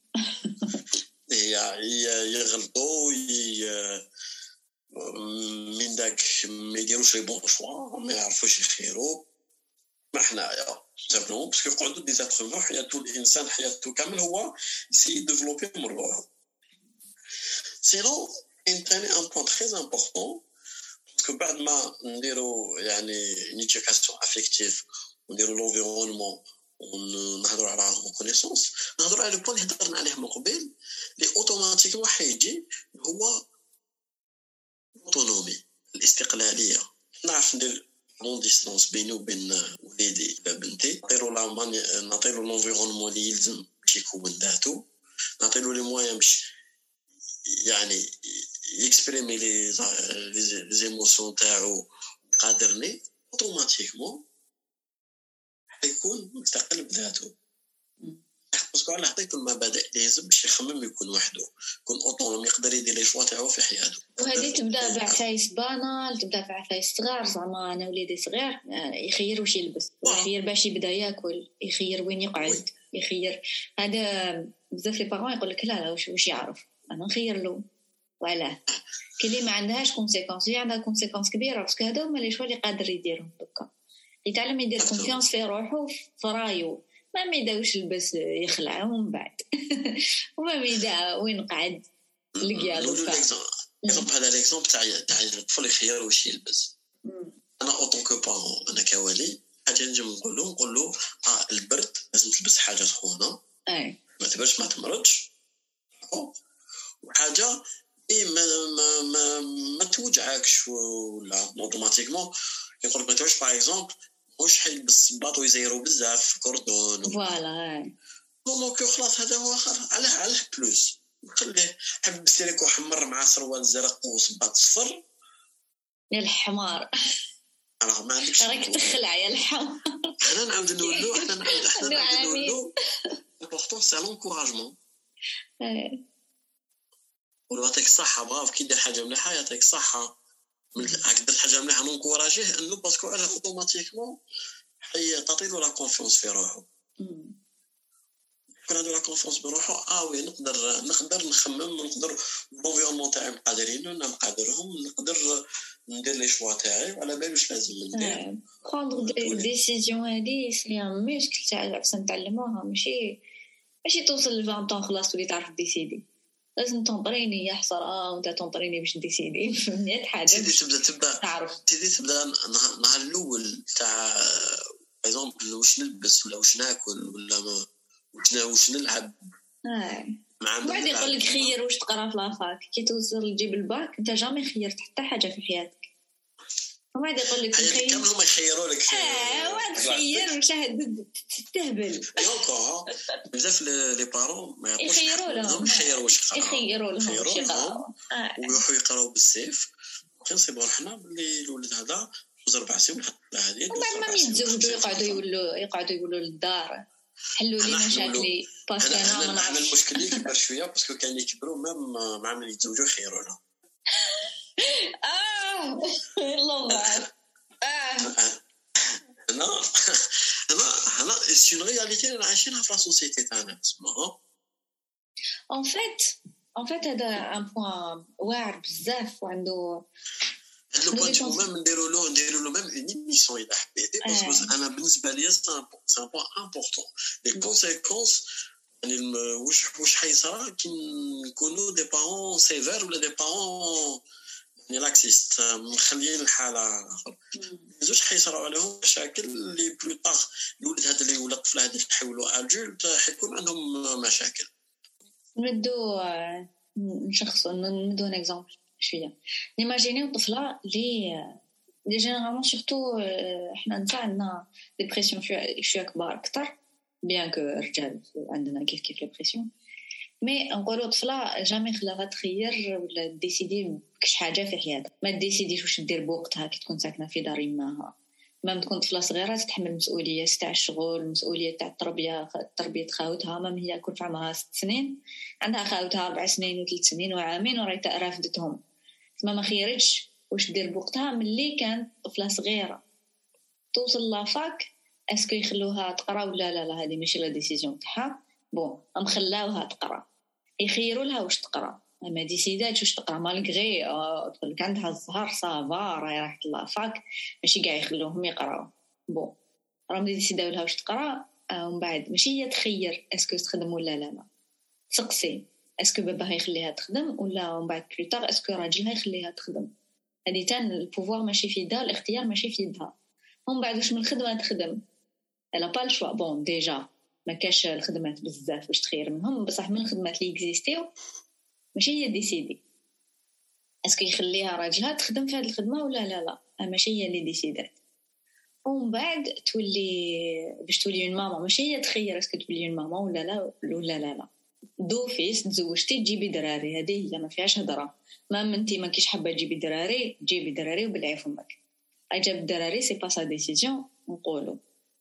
هي يغلطوا من داك ما يديروش لي بون شوا ما يعرفوش يخيروا ما حنايا سامبلومون باسكو يقعدوا دي زاتر هومان حياته الانسان حياته كامل هو يسي ديفلوبي من روحه سينو ان ثاني ان بوين تري امبورطون باسكو بعد ما نديروا يعني نيتيكاسيون افيكتيف ونديروا لونفيرونمون ونهضروا على الريكونيسونس نهضروا على البوين اللي هضرنا عليه من قبل اللي اوتوماتيكمون حيجي هو اوتونومي الاستقلاليه نعرف ندير لون ديستانس بيني وبين وليدي ولا بنتي نعطيلو لا ماني نعطيلو لونفيرونمون اللي يلزم باش يكون ذاته نعطيلو لي مويان باش يعني يكسبريمي لي لي زيموسيون تاعو قادرني اوتوماتيكمون حيكون مستقل بذاته باسكو انا عطيته المبادئ اللي لازم باش يخمم يكون وحده يكون اوتونوم يقدر يدير لي شوا تاعو في حياته وهذه تبدا بعفايس بانال تبدا بعفايس صغار زعما انا وليدي صغير يخير واش يلبس يخير باش يبدا ياكل يخير وين يقعد يخير هذا بزاف لي بارون يقول لك لا لا واش واش يعرف انا نخير له وعلاه كلي ما عندهاش كونسيكونس هي عندها كونسيكونس كبيره باسكو هذا هما لي شوا اللي قادر يديرهم دوكا يتعلم يدير كونفيونس في روحه في رايو ما ميداوش البس يخلع ومن بعد وما ميدا وين قعد لقيا دوكا اكزومبل هذا ليكزومبل تاع تاع الطفل يخير واش يلبس انا اوتون كو بارون انا كوالي حاجه نجي نقول له نقول له اه البرد لازم تلبس حاجه سخونه اي ما تبردش ما تمرضش وحاجه اي ما ما ما, ما توجعكش ولا اوتوماتيكمون يقول لك ما توجعش باغ اكزومبل واش حيلبس باطو يزيرو بزاف في كوردون فوالا دونك خلاص هذا هو علاه علاه بلوس خليه حب سيريكو حمر مع سروال زرق وصباط صفر يا الحمار راه ما عندكش راك تخلع يا الحمار حنا نعاود نقولوا حنا نعاود حنا نعاود نقولوا البورطون سي لونكوراجمون ولو عطيك الصحه برافو كي دير حاجه مليحه يعطيك الصحه هاك درت حاجه مليحه نكوراجيه انه باسكو على اوتوماتيكمون حي تعطيلو لا كونفيونس في روحو كون عنده لا كونفيونس بروحو اه وي نقدر نقدر نخمم نقدر لونفيرونمون تاعي مقادرينو انا مقادرهم نقدر ندير لي شوا تاعي وعلى بالي واش لازم ندير بروندر دي ديسيزيون هادي سي ان ميسكل تاع باش نتعلموها ماشي ماشي توصل ل عشرين طون خلاص تولي تعرف ديسيدي لازم تنطريني يا حسرة وانت تنطريني باش ديسيدي في مية حاجه تبدا تبدا تبدا تعرف تبدا تبدا النهار الاول تاع باغ واش نلبس ولا واش ناكل ولا ما واش واش نلعب اه بعد يقول لك خير واش تقرا في لافاك كي توصل تجيب الباك انت جامي خيرت حتى حاجه في حياتك وبعد يقول لك خير كامل هما يخيروا لك اه واد خير وشاهد تستهبل يوكو بزاف لي بارون ما يعرفوش يخيروا لهم يخيروا واش يقراو يخيروا لهم واش يقراو ويروحوا يقراو بالسيف كنصيبوا حنا باللي الولد هذا جوج ربع سنين لا هذه وبعد ما يتزوجوا يقعدوا يقولوا يقعدوا يقولوا للدار حلوا لي مشاكلي باسكو انا ما عندنا المشكل اللي كبر شويه باسكو كان يكبروا مام مع من يتزوجوا يخيروا لهم اه الله اه انا انا انا سي اون رياليتي انا عايشينها في لا سوسيتي تاعنا اسمها ان فيت ان فيت هذا ان بوين واعر بزاف وعنده هاد لو بوين ميم نديروا له نديروا له ميم اون ايميسيون اذا حبيتي باسكو انا بالنسبه لي سي ان بوين امبورطون لي كونسيكونس يعني واش واش حيصرا كي نكونوا دي بارون سيفير ولا دي بارون يعني لاكسيست مخليين الحاله اخر زوج حيصراو عليهم مشاكل اللي بلو طاغ الولد هذا اللي ولا الطفل هذا يحولوا ادولت حيكون عندهم مشاكل نبدو نشخصوا ندو ان اكزامبل شويه نيماجينيو طفله اللي لي جينيرالمون سورتو احنا نتاع عندنا ديبرسيون شويه كبار اكثر بيان كو رجال عندنا كيف كيف ديبرسيون مي نقولوا طفله جامي خلاها تخير ولا ديسيدي كش حاجه في حياتها ما ديسيديش واش دير بوقتها كي تكون ساكنه في دار يماها ما تكون طفله صغيره تتحمل مسؤوليه تاع الشغل مسؤوليه تاع التربيه تربيه خاوتها ما هي كل في عمرها ست سنين عندها خاوتها أربع سنين وثلاث سنين وعامين ورايته رافدتهم ما ما خيرتش واش دير بوقتها ملي كانت طفله صغيره توصل لافاك اسكو يخلوها تقرا ولا لا لا هذه ماشي لا ديسيجن تاعها بون ام خلاوها تقرا يخيروا لها واش تقرا ما ديسيداتش واش تقرا مالغري تقول لك عندها الزهر صافا راهي راحت لافاك ماشي كاع يخلوهم يقراو بون راهم ديسيداو لها واش تقرا ومن بعد ماشي هي تخير اسكو تخدم ولا لا لا تسقسي اسكو باباها يخليها تخدم ولا ومن بعد بلو طار اسكو راجلها يخليها تخدم هذه تان البوفوار ماشي في يدها الاختيار ماشي في يدها ومن بعد واش من الخدمه تخدم الا با الشوا بون ديجا ما كاش الخدمات بزاف باش تخير منهم بصح من الخدمات اللي اكزيستيو ماشي هي ديسيدي اسكو يخليها راجلها تخدم في هذه الخدمه ولا لا لا ماشي هي اللي ديسيدات ومن بعد تولي باش تولي من ماما ماشي هي تخير اسكو تولي من ماما ولا لا ولا لا لا دوفيس تزوجتي تجيبي دراري هذه هي ما فيهاش هضره ما انت ما كيش حابه تجيبي دراري تجيبي دراري وبلعي فمك اجاب الدراري سي با سا ديسيجن نقولوا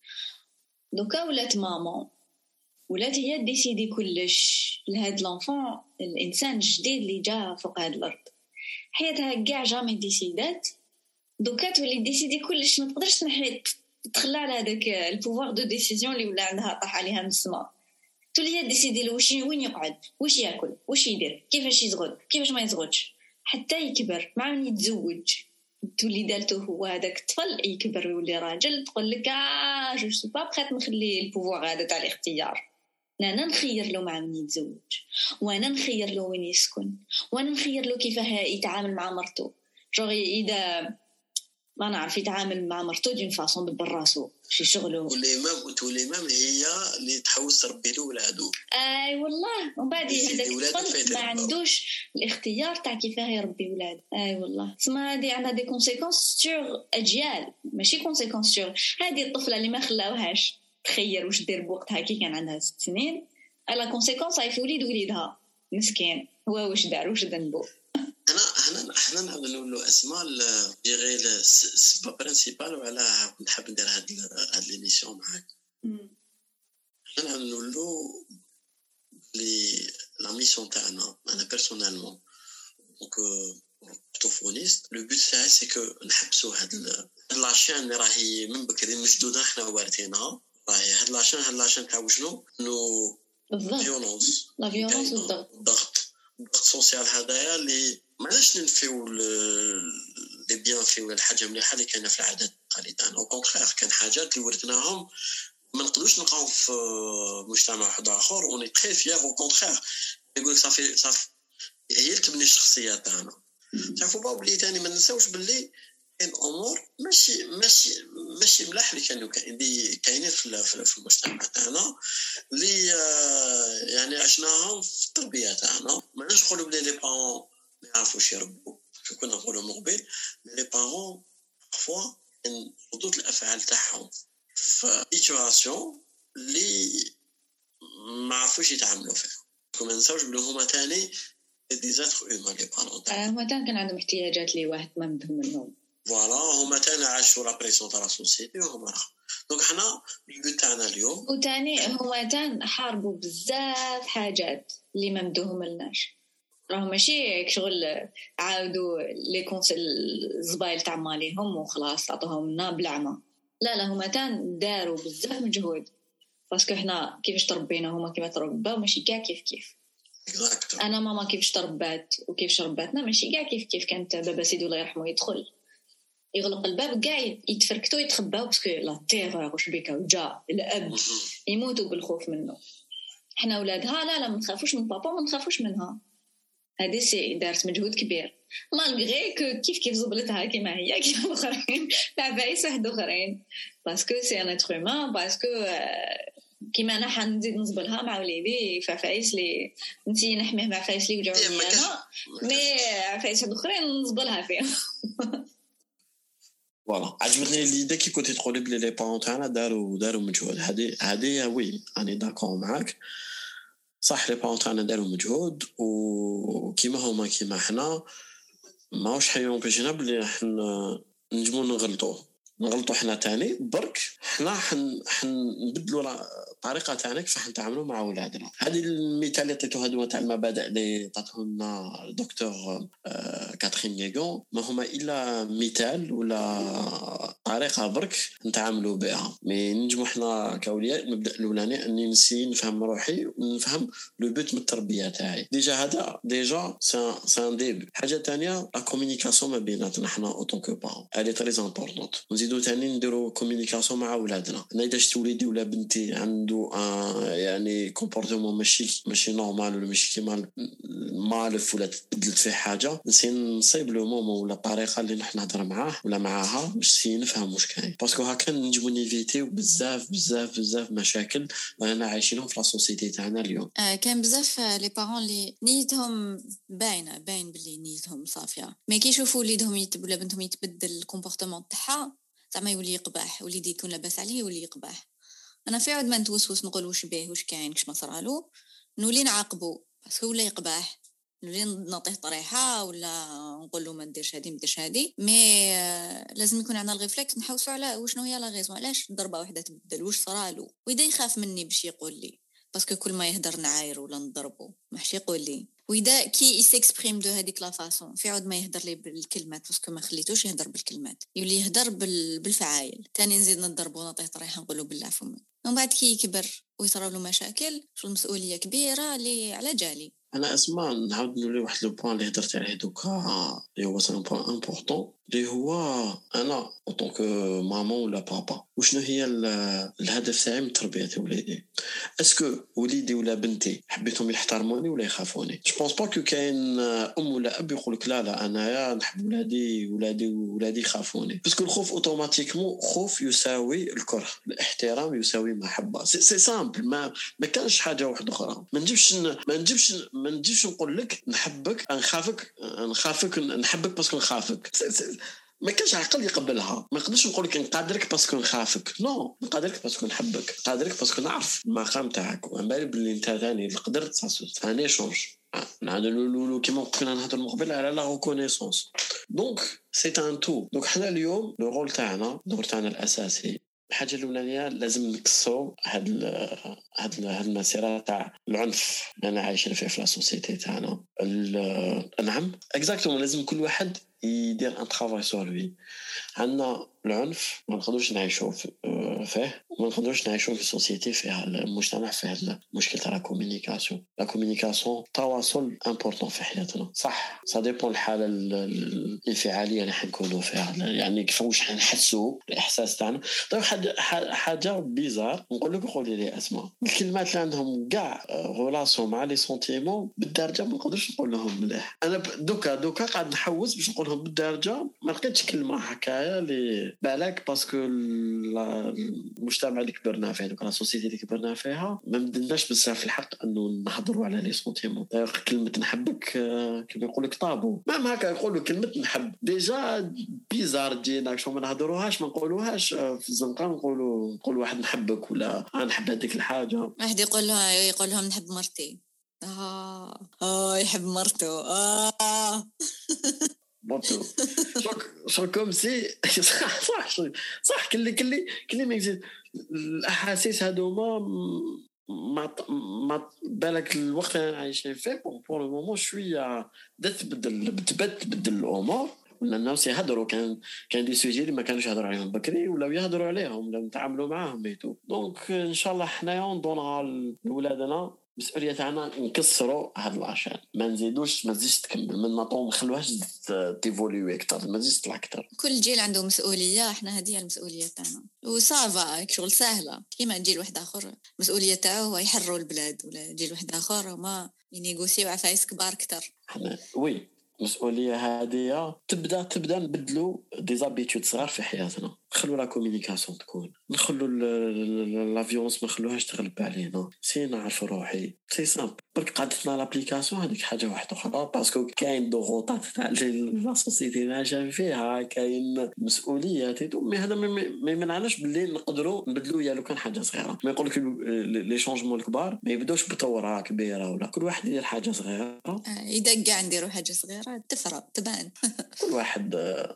دوكا ولات ماما ولات هي ديسيدي كلش لهاد لانفون الانسان الجديد اللي جا فوق هاد الارض حياتها كاع جامي ديسيدات دوكا تولي ديسيدي كلش ما تقدرش تنحي تخلى على هذاك البوفوار دو ديسيزيون اللي ولا عندها طاح عليها من السماء تولي هي ديسيدي واش وين يقعد واش ياكل واش يدير كيفاش يزغد كيفاش ما يزغدش حتى يكبر مع من يتزوج تولي دالته هو هذاك الطفل يكبر يولي راجل تقول لك اه جو سو با بخيت نخلي البوفوار هذا تاع الاختيار انا نخير له مع من يتزوج وانا نخير له وين يسكن وانا نخير له كيف يتعامل مع مرته جوغي اذا ما نعرف يتعامل مع مرته دون فاصون دبر راسو شي شغله والامام وتولي امام هي اللي تحوس تربي له ولادو اي والله ومن بعد هذاك ما عندوش الاختيار تاع كيف يربي ولاد اي والله اسمها هذه عندها دي كونسيكونس سور اجيال ماشي كونسيكونس سور هذه الطفله اللي ما خلاوهاش تخير واش دير بوقتها كي كان عندها ست سنين على كونسيكونس هاي في وليد وليدها مسكين هو واش دار واش ذنبو انا انا احنا نعاود نقولوا اسماء ديغي السبب برينسيبال وعلى نحب ندير هاد هاد ليميسيون معاك احنا نعاود نقولوا لي لا ميسيون تاعنا انا بيرسونيلمون دونك بروتوفونيست لو بوت تاعي سي كو نحبسوا هاد لاشين اللي راهي من بكري مشدوده احنا وارثينها راهي هاد لاشين هاد لاشين تاع وشنو نو فيولونس لا فيولونس والضغط الضغط الضغط سوسيال هذايا اللي معلاش ننفيو لي بيان فيو الحاجه مليحه اللي كاينه في العادات والتقاليد او كونترير كان حاجات اللي ورثناهم ما نقدروش نلقاو في مجتمع واحد اخر وني تري فيير او كونترير يقول لك صافي صافي هي اللي تبني الشخصيه تاعنا تعرفوا با بلي ثاني ما ننساوش باللي كاين امور ماشي ماشي ماشي ملاح اللي كانوا اللي كاينين في في المجتمع تاعنا اللي يعني عشناهم في التربيه تاعنا. ما نقدرش نقولوا بلي لي بارون ما يعرفوش يربوا كنا نقولوا مقبل لي بارون فوا ان ردود الافعال تاعهم في سيتواسيون اللي ما عرفوش يتعاملوا فيها. وما نساوش بلي هما تاني دي زاتر اومان لي بارون تاعهم هما تاني كان عندهم احتياجات اللي واحد ما مدهم منهم. فوالا هما تاني عاشوا لا بريسيون تاع لا سوسيتي وهما راه دونك حنا البيت تاعنا اليوم وتاني هما تان حاربوا بزاف حاجات اللي ما مدوهم لناش. راهو ماشي شغل عاودوا لي كونسل الزبايل تاع ماليهم وخلاص عطوهم لنا بالعمى. لا لا هما تان داروا بزاف مجهود باسكو حنا كيفاش تربينا هما كيما تربوا ماشي كاع كيف كيف. انا ماما كيفاش تربات وكيفاش رباتنا ماشي كاع كيف كيف. كانت بابا سيدي الله يرحمه يدخل يغلق الباب كاع يتفركتوا يتخباو باسكو لا تيغور واش بيك وجا الاب يموتوا بالخوف منه. احنا اولادها لا لا ما نخافوش من بابا ما نخافوش منها. هذه سي دارت مجهود كبير مالغري كو كيف كيف زبلتها كيما هي كيما الاخرين تاع بايس واحد اخرين باسكو سي ان اتر هومان باسكو كيما انا حنزيد نزبلها مع وليدي فعفايس لي نسي نحميه مع عفايس لي وجاوني انا مي عفايس واحد اخرين نزبلها فيهم. فوالا عجبتني ليدي كي كنتي تقولي بلي لي بارون تاعنا داروا داروا مجهود. هذه هذه وي اني داكور معاك صح. لي بارون تاعنا داروا مجهود وكيما هما كيما حنا ماوش حيون بيجينا بلي حنا نجمو نغلطوا نغلطوا حنا تاني برك حنا حن حنبدلوا الطريقه تاعنا كيف نتعاملوا مع اولادنا. هذه المثال اللي عطيته هذو تاع المبادئ اللي عطاته لنا الدكتور آه كاترين نيغون ما هما الا مثال ولا طريقه برك نتعاملوا بها. مي نجمو حنا كاولياء المبدا الاولاني اني نسي نفهم روحي ونفهم لو بوت من التربيه تاعي. ديجا هذا ديجا سان ديب. حاجه ثانيه لا كومونيكاسيون ما بيناتنا حنا اوتون كو بارون الي تري امبورطونط. نزيدو ثاني نديرو كومونيكاسيون مع اولادنا. انا اذا شفت وليدي ولا بنتي عنده يعني كومبورتمون ماشي ماشي نورمال ولا ماشي كيما مالف ولا تبدلت فيه حاجه نسي نصيب لو مومون ولا الطريقه اللي نحن نهضر معاه ولا معاها باش نفهم واش كاين باسكو هكا نجمو نيفيتيو بزاف بزاف بزاف مشاكل رانا عايشينهم في لا سوسيتي تاعنا اليوم. آه كان بزاف لي بارون لي نيتهم باينه باين بلي نيتهم صافيه مي كي يشوفوا وليدهم يتبدل ولا بنتهم يتبدل الكومبورتمون تاعها زعما يولي يقبح وليدي يكون لاباس عليه يولي يقبح. انا في عود ما نتوسوس نقول واش بيه واش كاين كش ما صرالو نولي نعاقبو باسكو ولا يقبح نولي نعطيه طريحه ولا نقول له ما نديرش هذه ما نديرش هذه. مي لازم يكون عندنا الريفلكس نحوسوا على وشنو هي لا غيزون علاش ضربه واحده تبدل واش صرالو ويدا يخاف مني باش يقول لي باسكو كل ما يهدر نعاير ولا نضربه ماحش يقول لي. وإذا كي يسكسبريم دو هذيك لا فاصون في عود ما يهدر لي بالكلمات باسكو ما خليتوش يهدر بالكلمات يولي يهدر بالفعايل تاني نزيد نضربه ونعطيه طريحه نقول له بالله فمك. ومن بعد كي يكبر ويصرا له مشاكل شو المسؤوليه كبيره اللي على جالي. انا اسمع نعاود نولي واحد لو بوين اللي هضرت عليه دوكا اللي هو سان بوين امبورطون اللي هو انا اوطون كو مامون ولا بابا وشنو هي الهدف تاعي من تربيه وليدي. اسكو وليدي ولا بنتي حبيتهم يحترموني ولا يخافوني. جو بونس با كو كاين ام ولا اب يقول لك لا لا انايا نحب ولادي ولادي ولادي يخافوني باسكو الخوف اوتوماتيكمون خوف يساوي الكره الاحترام يساوي محبه. سي سي سامبل ما ما كانش حاجه واحده اخرى. ما نجيبش ما نجيبش ما نجيش نقول لك نحبك نخافك نخافك نحبك باسكو نخافك. ما كانش عقل يقبلها. ما نقدرش نقول لك نقادرك باسكو نخافك نو نقادرك باسكو نحبك نقادرك باسكو نعرف المقام تاعك وعن بالي بلي انت ثاني اللي قدرت ثاني شونج نعدلوا كيما كنا نهضر من قبل على لا ريكونيسونس. دونك سي ان تو. دونك حنا اليوم لو رول تاعنا الدور تاعنا الاساسي الحاجه الاولانيه لازم نكسو هاد ال هاد هاد المسيره تاع العنف اللي انا عايشين فيه في لا سوسيتي تاعنا. نعم اكزاكتومون لازم كل واحد يدير ان طرافاي سور لوي. عندنا العنف ما نقدروش نعيشوا فيه وما نقدروش نعيشوا في سوسيتي فيها المجتمع فيها المشكل تاع لا كومونيكاسيون لا كومونيكاسيون تواصل امبورطون في حياتنا صح سا ديبون الحاله الانفعاليه اللي حنكونوا فيها يعني كيفاش حنحسوا الاحساس تاعنا طيب حاجه بيزار نقول لك قولي لي اسماء الكلمات اللي عندهم كاع غولاسيون مع لي سونتيمون بالدرجه ما نقدرش نقول لهم مليح انا دوكا دوكا قاعد نحوس باش نقول لهم بالدرجه ما لقيتش كلمه هكايا اللي بالك باسكو المجتمع اللي كبرنا فيه دوك لا سوسيتي اللي كبرنا فيها ما مدلناش بزاف الحق انه نهضروا على لي سونتيمون كلمه نحبك كيما يقول لك طابو ما هكا يقولوا كلمه نحب ديجا بيزار جينا شو ما نهضروهاش ما نقولوهاش في الزنقه نقولوا نقول واحد نحبك ولا انا نحب هذيك الحاجه واحد يقول لها يقول لهم نحب مرتي اه اه يحب مرته اه بطو شو كوم سي صح صح صح كلي كلي كلي ما يزيد الاحاسيس هذوما ما ما بالك الوقت اللي عايشين فيه بور لو مومون شويه تبدل تبدل تبدل الامور ولا الناس يهضروا كان كان دي سوجي اللي ما كانوش يهضروا عليهم بكري ولا يهضروا عليهم ولا نتعاملوا معاهم بيتو دونك ان شاء الله حنايا ندونها لولادنا مسؤوليه تاعنا نكسروا هاد الاشياء ما نزيدوش ما تزيدش تكمل من نطو ما نخلوهاش تيفوليوي اكثر ما تزيدش تطلع اكثر كل جيل عنده مسؤوليه احنا هذه المسؤوليه تاعنا وصافا شغل سهله كيما جيل واحد اخر المسؤوليه تاعو هو يحرروا البلاد ولا جيل واحد اخر ما ينيغوسيو عفايس كبار اكثر احنا وي المسؤوليه هذه تبدا تبدا نبدلوا دي زابيتود صغار في حياتنا نخلوا لا كومونيكاسيون تكون نخلوا لا فيولونس ما نخلوهاش تغلب علينا سي نعرف روحي سي سامبل برك قعدتنا لابليكاسيون هذيك حاجه واحده اخرى باسكو كاين ضغوطات تاع لا سوسيتي اللي عايشين فيها كاين مسؤوليات مي هذا ما يمنعناش باللي نقدروا نبدلوا يا لو كان حاجه صغيره ما يقولك لي شونجمون الكبار ما يبداوش بثوره كبيره ولا كل واحد يدير حاجه صغيره اذا كاع نديروا حاجه صغيره تفرق تبان كل واحد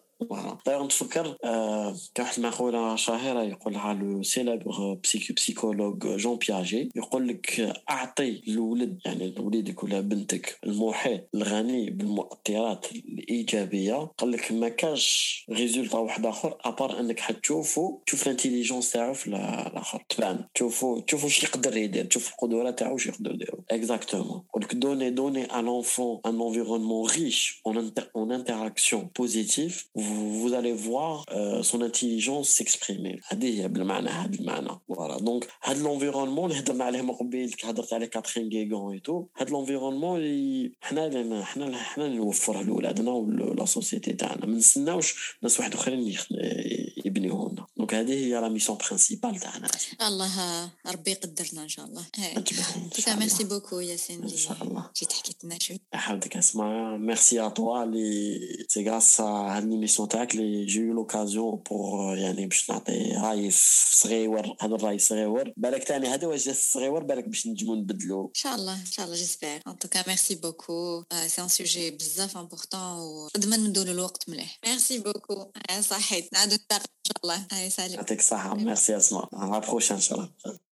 طيب نتفكر آه كان واحد المقولة شهيرة يقولها لو سيلابر بسيكو بسيكولوج جون بياجي يقول لك أعطي الولد يعني وليدك ولا بنتك المحيط الغني بالمؤثرات الإيجابية قال لك ما كاش ريزولتا واحد آخر أبار أنك حتشوفوا تشوف الانتيليجنس تاعو في الآخر تبان تشوفوا تشوفوا شي يقدر يدير تشوف القدرة تاعو شي يقدر يديروا exactement ولك دوني دوني à l'enfant un environnement riche en, inter- en interaction positive vous allez voir euh, son intelligence s'exprimer هذه هي بالمعنى هذا المعنى voilà donc هذا l'environnement اللي هضرنا عليه من قبل هضرت عليه كاترين غيغون ايتو هذا l'environnement اللي حنا لنا حنا حنا نوفره لولادنا ولا سوسيتي تاعنا ما نستناوش ناس واحد اخرين يبنيوه لنا دونك هذه هي لا ميسيون برينسيبال تاعنا الله ربي يقدرنا ان شاء الله كيتا ميرسي بوكو ياسين ان شاء الله جيت حكيت لنا شويه حابك اسمع ميرسي ا توا لي سي غراس هاد ليميسيون تاعك لي جي يو لوكازيون بور يعني باش نعطي راي صغيور هذا الراي صغيور بالك ثاني هذا واش صغيور بالك باش نجمو نبدلو ان شاء الله ان شاء الله جيسبر ان توكا ميرسي بوكو سي ان سوجي بزاف امبورطون وقدما ندولو الوقت مليح ميرسي بوكو صحيت نعاودو نتلاقاو ان شاء الله هاي سالي يعطيك الصحه ميرسي اسماء على بروشين ان شاء الله